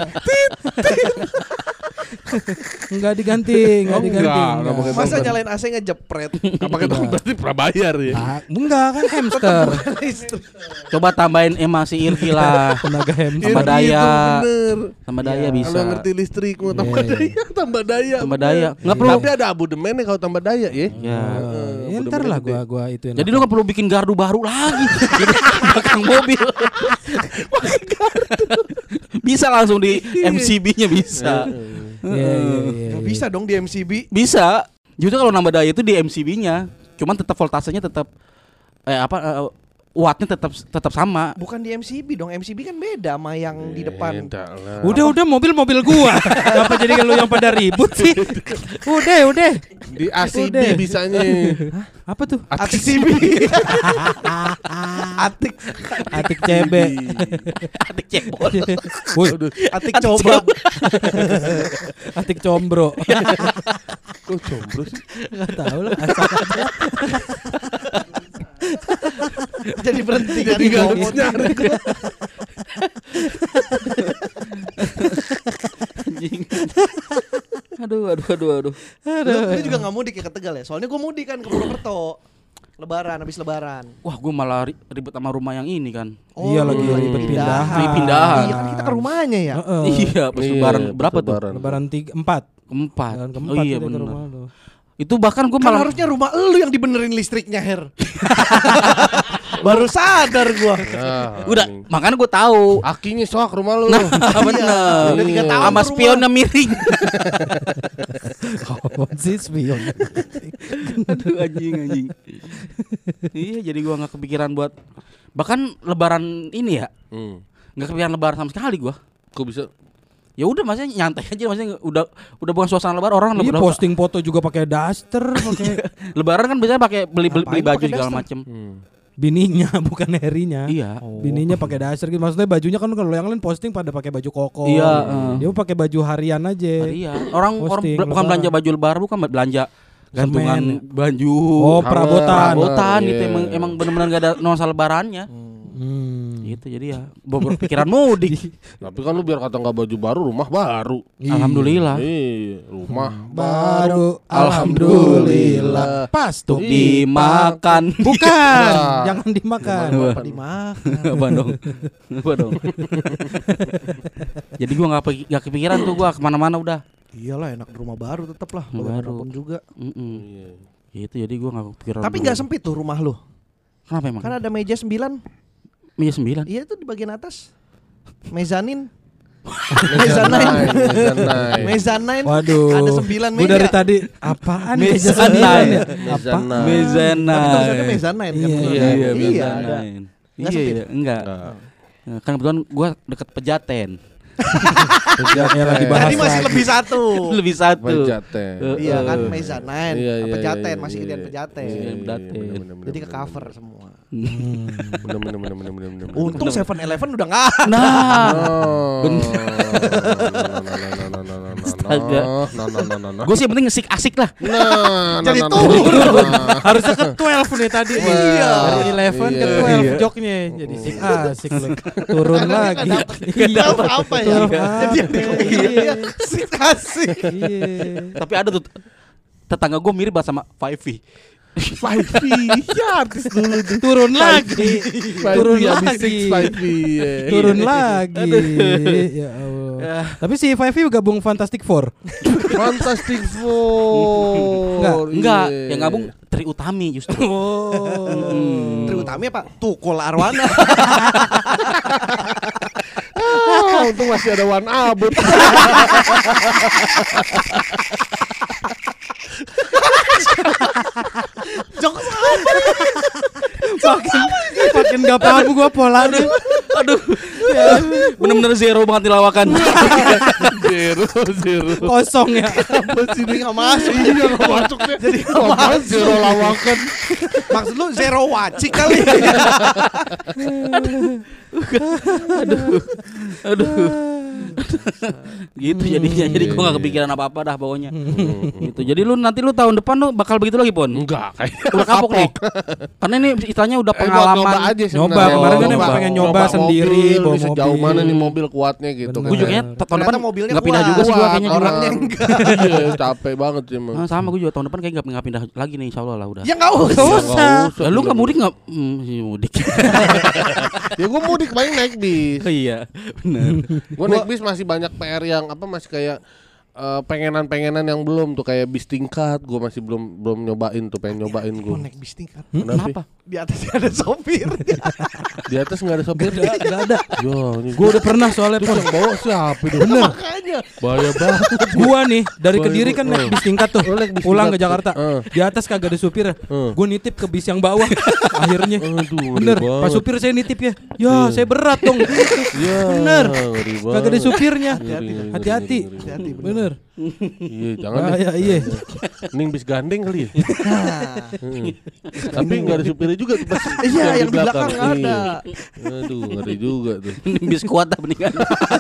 Enggak diganti, enggak Oh, diganti. enggak, enggak. enggak pakai Masa token. nyalain A C ngejepret. Nggak pakai token berarti pernah bayar ya. Ah, enggak kan hamster. Coba tambahin emasi irki lah. Tenaga hamster. Tambah Iya, daya. itu bener. Tambah daya bisa. Kalau ngerti listrik mau tambah Iya, iya. daya, tambah daya. Tambah bener. daya. Nggak perlu. Tapi ada abodemennya kalau tambah daya ya. Ya. Ya, ntar lah gua gua itu. Jadi lu nggak perlu bikin gardu baru lagi. Jadi belakang mobil. Bisa langsung di M C B-nya bisa. Iya iya iya. Nggak bisa dong di M C B. Bisa. Justru kalau nambah daya itu di M C B-nya. Cuman tetap voltasenya tetap eh apa eh, wattnya tetap tetap sama. Bukan di M C B dong, M C B kan beda sama yang di depan. Beda lah. Udah udah mobil-mobil gua. Kenapa jadi lu yang pada ribut sih? Udah udah. Di A C B Udah. bisanya. Apa tuh? Atik C B. Atik Atik C B. Atik cebol. Woi, Atik coba. Atik combro. Kok jomblo sih? Enggak tahu lah. asal aja. Jadi berhenti kan Jadi di gak bawah. harus nyari. Anjing. Aduh, aduh, aduh, aduh. Lu, lu juga gak mudik ya ke Tegal ya? Soalnya gue mudik kan ke Purwokerto. Lebaran, habis lebaran. Wah, gue malah ri- ribet sama rumah yang ini kan. Iya, lagi lu ribet pindahan. Ribet pindahan. Iya kan kita ke rumahnya ya. Heeh. Iya, pas Iya, lebaran pas berapa tuh? lebaran. Lebaran tiga empat. Keempat. Lebaran Oh keempat iya kita ke benar. rumah lu. Itu bahkan gue Kan malah harusnya rumah lu yang dibenerin listriknya, Her. Baru sadar gua. Nah, udah, anjing. makanya gue tahu. Akinya sok rumah lu. Nah, bener. Udah tiga Iya. tahun Sama ke rumah. spionnya miring. Oh, si spion. Aduh anjing anjing. Iya, jadi gua nggak kepikiran buat bahkan lebaran ini ya. Hmm. Nggak kepikiran lebaran sama sekali gua. Kok bisa? Ya udah maksudnya nyantai aja, maksudnya udah udah bukan suasana lebaran orang Ini lebaran. posting foto juga pakai daster, pakai Lebaran kan biasanya pakai beli beli, beli Ngapain baju pakai segala daster? macem. Hmm. bininya bukan Herinya. Iya. Bininya pakai daster gitu. Maksudnya bajunya kan kalau yang lain posting pada pakai baju koko. Iya, uh. Dia pakai baju harian aja. Iya. Orang orang Posting, bel- bukan lebaran. belanja baju lebaran, bukan belanja gantungan Semen. baju. Oh, perabotan. Perabotan Iya. itu emang emang benar-benar gak ada nuansa lebarannya. Hmm. Gitu jadi ya bobrok pikiran mudik. Tapi kan lu biar kata nggak baju baru, rumah baru. Alhamdulillah. Iya, rumah Baru Alhamdulillah. alhamdulillah. Pas tuh. Dimakan. Bukan, Nah. jangan dimakan. Apa dimakan? Apa dong? Apa dong? Jadi gua nggak pe- nggak kepikiran tuh gua kemana-mana udah. Iyalah enak di rumah baru tetap lah. Baru. Bagaimanapun juga. Mm-mm. Iya. Gitu jadi gua nggak kepikiran. Tapi dulu. nggak sempit tuh rumah lu. Kenapa emang? Kan ada meja sembilan. Meja sembilan. Iya tuh di bagian atas. Mezanin. Mezzanine, mezzanine. Mezanin. Waduh. Ada sembilan Gue meja. dari tadi apaan Meja meja sembilan sembilan ya? ya? Apa? Mezzanine. Mezana. Tapi tulisannya mezanin kan. Iya, bener Iya, kan? iya, Iya, ada. mezanain. Nggak Iya, sempit? iya, enggak. Enggak. Nah, kan kebetulan gua deket Pejaten. Ya lagi bahas Tadi masih lagi. lebih satu. Lebih satu. Pejaten. Eh, Iya kan eh. mezanin. Iya, iya, Pejaten iya, masih iya, gedean iya. pejaten. Iya, iya, Pejaten. bener, bener, bener, Jadi ke bener, cover semua. bener, bener, bener, bener, bener, bener. Untung seven eleven udah nggak ada. Nah, Oh. Bener. Astaga. Nah, nah, nah, nah, nah. gue sih yang penting ngesik asik lah. Nah, Jadi nah, nah, turun. nah, nah. Harusnya ke twelve nih tadi. Iya. Dari eleven ke Iya. twelve Iya. joknya. Jadi sik asik lu. Turun lagi. Iya apa ya? twelve Jadi yang Iya. Asik asik. Iya. Tapi ada tuh tetangga gue mirip banget sama Five V. Five V, ya artis dulu tuh. Turun lagi. Turun lagi. Five V, iya. Turun lagi. Ya Allah. Tapi si Five V gabung Fantastic Four. Fantastic Four. Enggak, Enggak, Iya. yang gabung Tri Utami justru. Oh. Tri Utami apa? Tukul Arwana. Ah, untung masih ada Wan Abut. Jokes Makin makin gak paham gua polanya. Aduh. Bener-bener zero banget di lawakan. Zero, zero. Kosong ya. apa sih ini nggak masuk? Iya nggak masuk deh. Jadi nggak zero lawakan. Maksud lu zero wacik kali? Aduh. Gitu jadinya. Jadi gue gak kepikiran apa-apa dah pokoknya. Gitu. Jadi lu nanti lu tahun depan lu bakal begitu lagi, Pon? Enggak, kayak Udah kapok nih. Karena ini istilahnya udah Eh, buat pengalaman. nyoba aja sebenarnya. Nyoba, kemarin kan emang pengen nyoba sendiri, mobil, bawa nih, sejauh mobil. mana nih mobil kuatnya gitu. Bener. Gue juga kayaknya tahun Ternyata depan mobilnya nggak pindah kuat. juga sih gue kayaknya juga. orangnya enggak. Iya, capek banget sih emang. Nah, sama gue juga tahun depan kayak nggak pindah lagi nih, insya Allah lah udah. Ya nggak usah. Nggak usah. Lalu nggak mudik nggak? Hmm, sih mudik. Ya gue mudik paling naik bis. Iya, benar. Gue naik bis masih banyak P R yang apa masih kayak eh, pengenan-pengenan yang belum tuh kayak bis tingkat, gue masih belum belum nyobain tuh, pengen nyobain gue. Mau naik bis tingkat. Kenapa? Di atasnya ada sopir. Di atas nggak ada sopir? Gak, gak ada. Yo, ini Gue udah pernah soalnya terus Pon. yang bawa siapa itu? Bener. Makanya. Bahaya banget. Gua nih dari Bahaya Kediri kan banget. naik bis tingkat tuh. Oh, naik bis Pulang ke tingkat. Jakarta. Eh. Di atas kagak ada supir. Eh. Gue nitip ke bis yang bawah. Akhirnya. Aduh, ngeri Bener. banget. Pas supir saya nitip ya. Ya saya berat dong. Iya, Bener. ngeri banget. Kagak ada supirnya. Ngeri, ngeri, Hati-hati. ngeri, ngeri. Hati-hati bener. Bener. Iya, jangan deh. Bahaya iya. Mending bis gandeng kali ya. Nah, Hmm. Tapi nggak ada supirnya juga tuh pas. Iya, yang di belakang Iya. ada. Aduh, ngeri juga tuh. Mending bis kuat dah mendingan.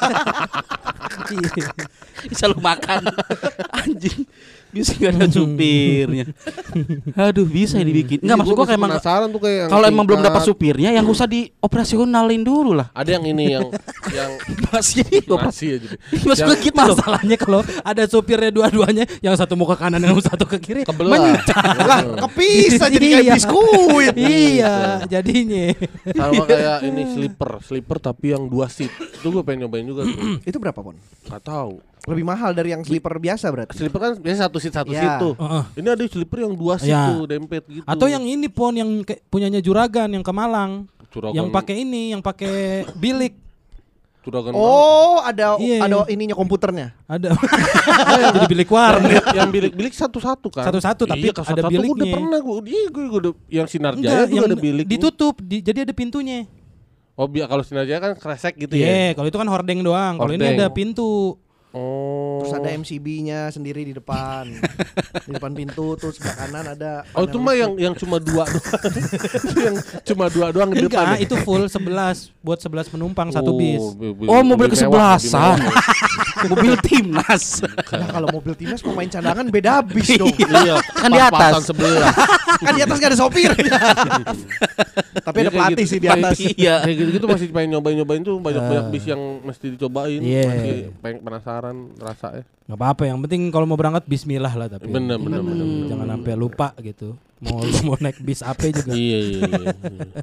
Bisa lu makan. Anjing. Bisa gak ada supirnya. Aduh, bisa ya dibikin. Enggak, maksud gua kayak emang penasaran tuh kayak yang kalau emang belum tingkat. dapat supirnya yang usah dioperasionalin dulu lah. Ada yang ini yang yang Masih masih aja. deh. Masuk Yang ke gitu loh. Masalahnya kalau ada supirnya dua-duanya, yang satu mau ke kanan, yang satu ke kiri, kebelah. lah kepisah jadi kayak Iya. biskuit. Iya, jadinya. Sama kayak ini sleeper, sleeper tapi yang dua seat. Itu gue pengen nyobain juga tuh. Itu berapa, Pon? Gak tahu. Lebih mahal dari yang sleeper biasa berarti. Sleeper kan biasa satu seat satu Ya. seat tuh. Heeh. Ini ada sleeper yang dua seat Ya. tuh dempet gitu. Atau yang ini Pon, yang kayak punyanya Juragan yang ke Malang. Juragan- Yang pakai ini, yang pakai bilik. Juragan Oh, ada Iya. ada ininya komputernya. Ada. Jadi bilik warnet. yang bilik-bilik satu-satu kan. Satu-satu, tapi iya, kalau ada satu-satu biliknya. Udah pernah gue, iya gue udah yang Sinar Jaya Enggak, juga yang ada bilik. ditutup, di- jadi ada pintunya. Oh, biar kalau Sinar Jaya kan kresek gitu Iya, ya. kalau itu kan hordeng doang. Kalau ini Hordeng. ada pintu. Oh. Terus ada M C B-nya sendiri di depan. Di depan pintu terus sebelah kanan ada Oh, itu panel mah listrik. yang yang cuma dua doang. Itu yang cuma dua doang di depan. Enggak, ya? itu full sebelas buat sebelas penumpang satu bis. bi- bi- Oh, mobil lebih kesebelasan. mewah, lebih Mobil timnas. Nah, kalau mobil timnas pemain cadangan beda bis dong. mewah. Iya, Kan di atas. pas-pasan sebelah. Kan di atas gak ada sopir. Tapi Iya, ada kayak pelatih gitu. sih di atas. Iya. Kayak gitu-gitu masih pengen nyobain-nyobain tuh banyak-banyak bis yang mesti dicobain. Iya. Masih pengen penasaran rasanya. Nggak apa-apa, yang penting kalau mau berangkat bismillah lah tapi. Bener bener bener. bener, Jangan bener. sampai lupa gitu. Mau mau naik bis apa juga. Iya iya iya.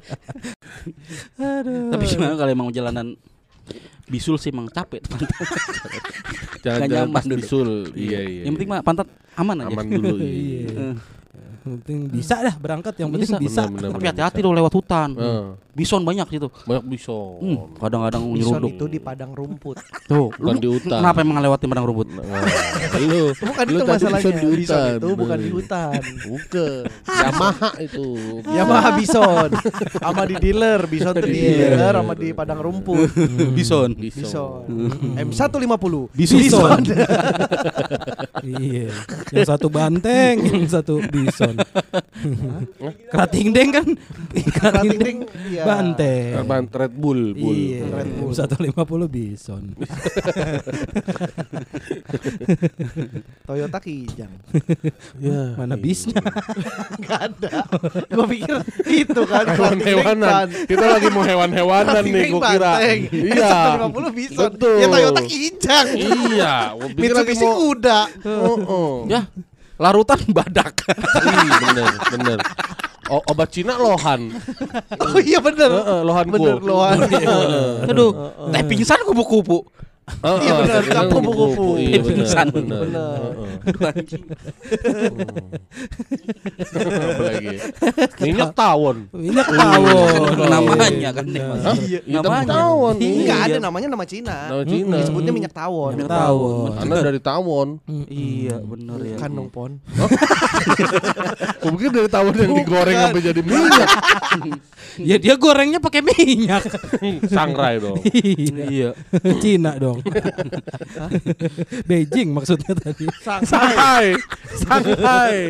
Tapi gimana kalau emang jalanan bisul sih emang capek pantat. Jangan Nggak jangan nyaman pas dulu. bisul. Iya iya. Yang penting mah pantat aman aja. aman dulu. Iya. Iya. Yang penting bisa dah berangkat, yang penting Bisa. bisa. Bener, bener, Tapi bener, hati-hati bisa. lo lewat hutan. Heeh. Bison banyak situ. Banyak bison. Hmm, kadang-kadang Bison nyeruduk. itu di padang rumput. Tuh, Bukan lu di hutan. kenapa emang ngelewatin padang rumput? Nah, lu Bukan lu itu tadi masalahnya. bison di Bison hutan. itu bukan di hutan. Bukan. Yamaha itu. Yamaha Bison. Sama di dealer, Bison tuh di dealer sama di padang rumput. Bison. Bison. M seratus lima puluh. Bison. Iya. Yang satu banteng, yang satu bison. Kerating deng kan? Kerating deng Iya. banteng. Ban Red Bull, Bull. Iya, Red Bull. seratus lima puluh bison. Toyota Kijang. Ya. Mana bisnya? Enggak ada. Gua pikir itu kan Hewan-hewanan. Kita lagi mau hewan-hewanan nih gua kira. Iya. seratus lima puluh Bison. Betul. Ya Toyota Kijang. Iya, gua pikir lagi Mitsubishi mau kuda. Oh, oh. Ya, larutan badak. Ih, bener, bener. O- obat Cina lohan. Oh iya bener. Heeh, lohan Bener ku. lohan. Aduh, teh pingsan kupu-kupu. Heeh, Iya, bener, tadi kan kupu-kupu. Iya bener, Pingsan. bener. Bener. Heeh. Aduh anjing. Apa lagi? Minyak tawon. Minyak tawon. Namanya kan nih. Mas. Iya. Iya, tapi Namanya. tawon. Enggak Iya. ada namanya nama Cina. Nama Cina. Disebutnya minyak tawon. Minyak tawon. Karena dari tawon. Iya, bener ya. Kan dong Pon. Gua pikir dari tawon yang digoreng sampai jadi minyak. Ya dia gorengnya pakai minyak. Sangrai dong. Iya. Cina dong. Beijing maksudnya tadi. Shanghai. Shanghai.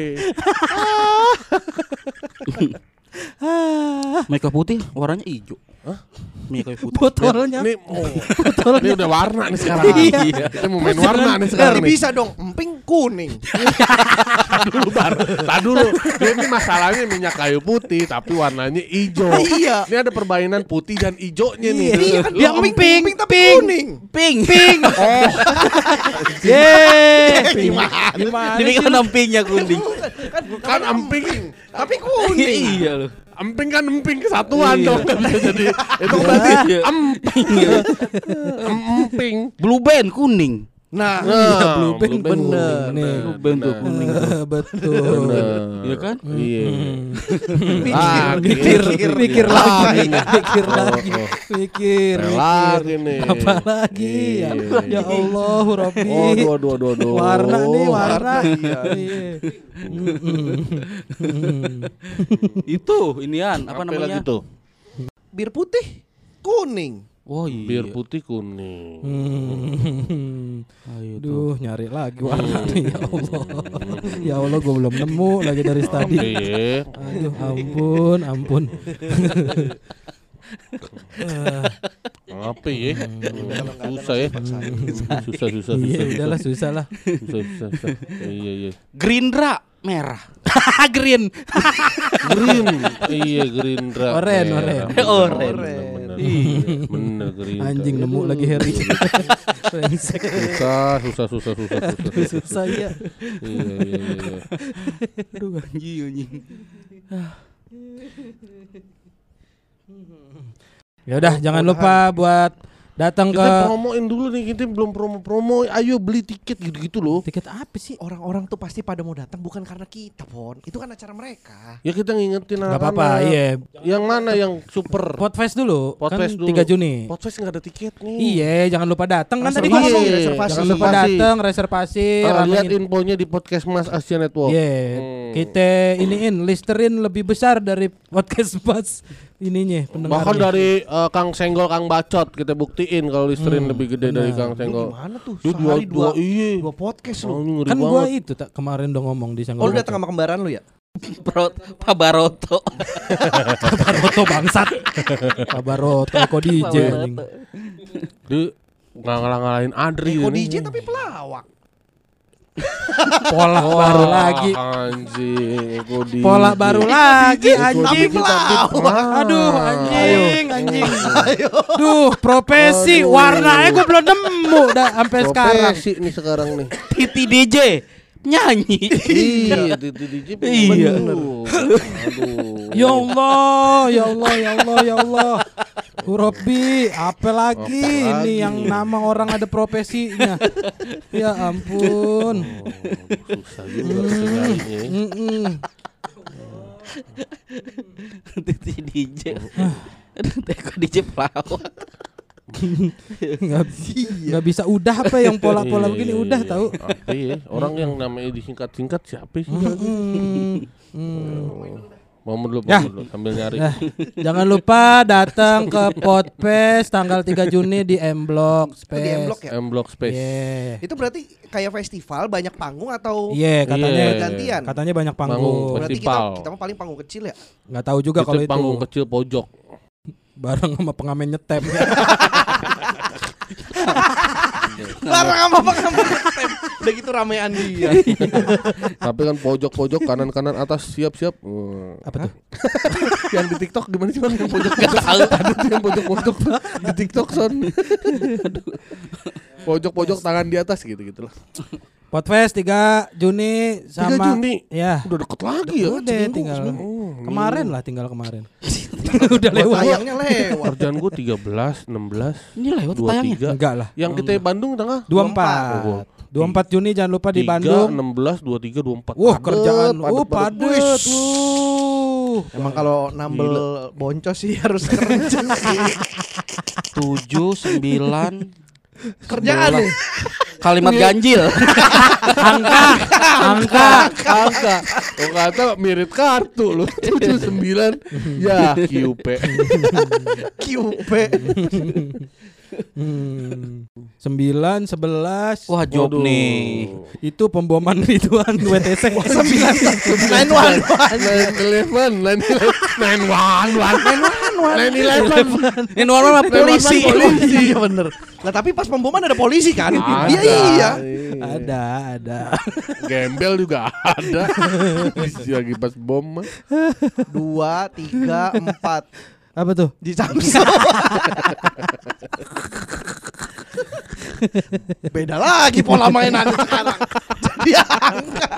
Minyak kayu putih warnanya hijau. Hah? Minyak kayu putih. Botolnya. Ini, oh, ini udah warna nih sekarang. Iya. Kita mau main warna nih sekarang Jadi nih. bisa dong emping kuning. dulu bar. Tadi dulu. Ini masalahnya minyak kayu putih tapi warnanya hijau. Iya. Ini ada perbaikan putih dan hijaunya nih. Iya kan Dia dia emping, emping, emping tapi pink. kuning. Ping. Pink. Oh, Yeay. Gimana? Gimana Ini sih kan lu? empingnya kuning. kan emping. Tapi kuning. Iya loh. Emping kan emping kesatuan Iya. dong kan bisa jadi. Itu berarti Iya. emping. Emping. Blue band kuning. Nah, Iya, blue band Blue band bener. kuning, Nih. bener, Bentuk bener. kuning. Betul. Bener. Iya kan? Iya. Mikir, Ah, Mikir, mikir, mikir Ah, lagi, ini. mikir Oh, lagi, oh. mikir, Lagi mikir. nih. Apa lagi ya? Iya. Ya Allah, Robbi. Oh, aduh, aduh, aduh, aduh. Warna nih, warna. Iya. Iya. Mm-mm. Itu inian apa Apa namanya? lagi tuh? Bir putih, kuning. Oh iya. Bir putih kuning. Hmm. Ayo tuh. Duh, nyari lagi warna nih, ya Allah. Ya Allah, gue belum nemu lagi dari tadi. Iya. Aduh, ampun, ampun. Apa ya? Susah ya. Susah, susah, susah. Iya, susah. udahlah susah lah. Susah, susah, susah. Iya, iya. Gerindra merah. Green. Green. Iya, Gerindra. Oren, Merah. oren. Bener, Oren. bener, bener. Iya. Bener, Gerindra. Anjing nemu lagi Harry. Brengsek. Susah, susah, susah, susah, susah. Susah ya. Iya, iya, iya, iya. Aduh anjing anjing. Ya udah, jangan lupa buat datang ke Kita promoin dulu nih, kita belum promo-promo. Ayo beli tiket gitu-gitu loh. tiket apa sih? Orang-orang tuh pasti pada mau datang bukan karena kita, Pon. Itu kan acara mereka. Ya kita ngingetin Gak anak-anak. apa-apa, iya. Yang mana yang super? Podfest dulu, Podfest kan dulu. tiga Juni. Podfest nggak ada tiket nih. Iya, jangan lupa datang kan tadi Reservasi, gua ngomong. reservasi. Jangan lupa Reservasi. datang, reservasi, Ah, lihat ramein. infonya di podcast Mas Asia Network. Iya, Hmm. kita iniin listerin lebih besar dari podcast Mas ininya pendengarnya. Bahkan dari eh, Kang Senggol, Kang Bacot kita buktiin kalau Listerin Hmm, lebih gede dari benar. Kang Lu Senggol. gimana tuh? Dia dua, Sehari dua, dua, iya. dua podcast Oh, lu. ini ngeri Kan gua banget. itu tak kemarin udah ngomong di Senggol. Oh, lu datang sama kembaran lu ya? Pro, Pak Baroto. Baroto bangsat. Pak Baroto Eko D J anjing. Dia nggak ngalah-ngalahin Adri. Eko ini. D J tapi pelawak. Pola baru lagi. Anjing, Eko D J. Pola baru lagi Eko anjing. D J tapi pelawak. Aduh anjing, anjing. Duh, profesi Aduh. warnanya gue belum nemu dah sampai sekarang. Profesi nih sekarang nih. Titi D J nyanyi. Iya, di D J Iya. bener. Aduh. Ya Allah, ya Allah, ya Allah, ya Allah. Robbi, apa lagi Apa ini lagi? yang nama orang ada profesinya? Ya ampun. Oh, susah juga kita nyarinya ya. Mm-mm. Titi D J. Aduh, Teko D J pelawak. Nggak, nggak bisa udah apa yang pola-pola Iya, begini iya, udah iya. tahu. Apa ya? Orang yang namanya disingkat-singkat siapa sih? Mm, mm. Mau dulu, Ya. mau dulu sambil nyari. Nah, jangan lupa datang ke Podfest tanggal tiga Juni di M Block Itu di M Block Space. ya? M Block Space. Iya. Itu berarti kayak festival banyak panggung atau Iya, katanya Iya. gantian? katanya banyak Panggung. panggung. Berarti kita Festival. kita mah paling panggung kecil ya. Nggak tahu juga Itu kalau itu. panggung kecil pojok. Bareng sama pengamen nyetem. Larang sama pengamen nyetem. Udah gitu ramean dia. Tapi kan pojok-pojok kanan-kanan atas siap-siap. Wah. Apa tuh? Yang di TikTok gimana sih Bang? Yang pojok-pojok ada tuh yang pojok-pojok di TikTok son. Pojok-pojok tangan di atas gitu-gitu lah. Podfest tiga Juni sama tiga Juni. Ya. Udah deket lagi ya. Udah seminggu, tinggal seminggu. Oh, kemarin minggu. lah tinggal kemarin. Udah Buat lewat. tayangnya lewat. Kerjaan gue tiga belas, enam belas, Ini lewat dua puluh tayangnya. tiga. Enggak lah. Yang kita Bandung tengah dua puluh empat. Oh, dua puluh empat Juni jangan lupa di tiga, Bandung. enam belas, dua puluh tiga, dua puluh empat. Wah, Padet, kerjaan. padet, Oh, padet. padet. Wuh. Emang kalau nambel boncos sih harus kerja. Tujuh, sembilan Kerjaan nih. kalimat ganjil. Angka, angka. Angka. Oh kata mirip kartu loh. tujuh sembilan. Ya Q P. Q P. Hmm. Sembilan, sebelas. Wah, job Waduh. nih. Itu pemboman Ridwan W T C. Sembilan nine one one. Nine eleven, nine eleven, nine one one, nine eleven. Ini normal polisi. Polisi. Iya bener. Lah tapi pas pemboman ada polisi kan? Ada. Iya iya. Ada, ada. Gembel juga ada. Lagi pas bom mah. Dua, tiga, empat. Apa tuh? Di Samsung. Beda lagi pola mainan sekarang. Jadi angka.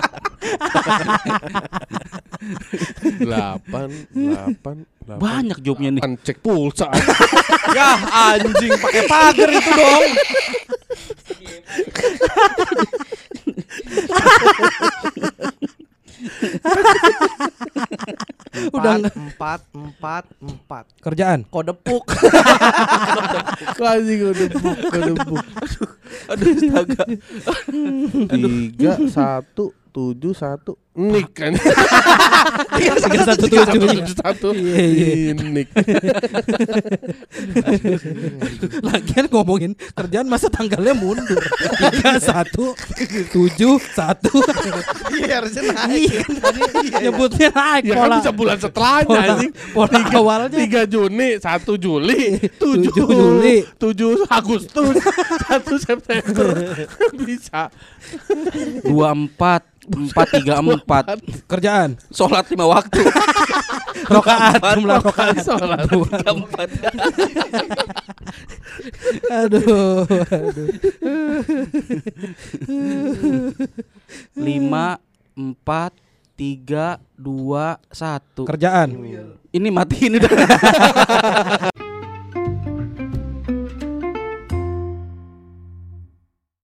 Delapan, delapan, delapan. Banyak jobnya nih. Delapan, cek pulsa. Ya anjing pakai pagar itu dong. Udah Empat, nggak- empat, empat, empat. Kerjaan. Kodepuk. Anjing udah buk, udah buk. Aduh astaga. Tiga satu tujuh satu nik kan. Tiga satu Tiga satu tujuh. tujuh satu Iya, iya. nik. Lagian ngomongin kerjaan masa tanggalnya mundur. Tiga satu tujuh satu. Iya harusnya naik. Iya, nyebutnya naik Ya kan pola. bisa bulan setelahnya Pola, anjing. pola awalnya. tiga Juni, satu Juli, tujuh tujuh Juli. tujuh Agustus, satu September. Bisa. Dua empat empat tiga empat. Kerjaan. Sholat lima waktu. Rokaat, jumlah rokaat. Sholat. Tiga empat. Aduh, aduh. Lima empat tiga dua satu. Kerjaan. Ini matiin udah.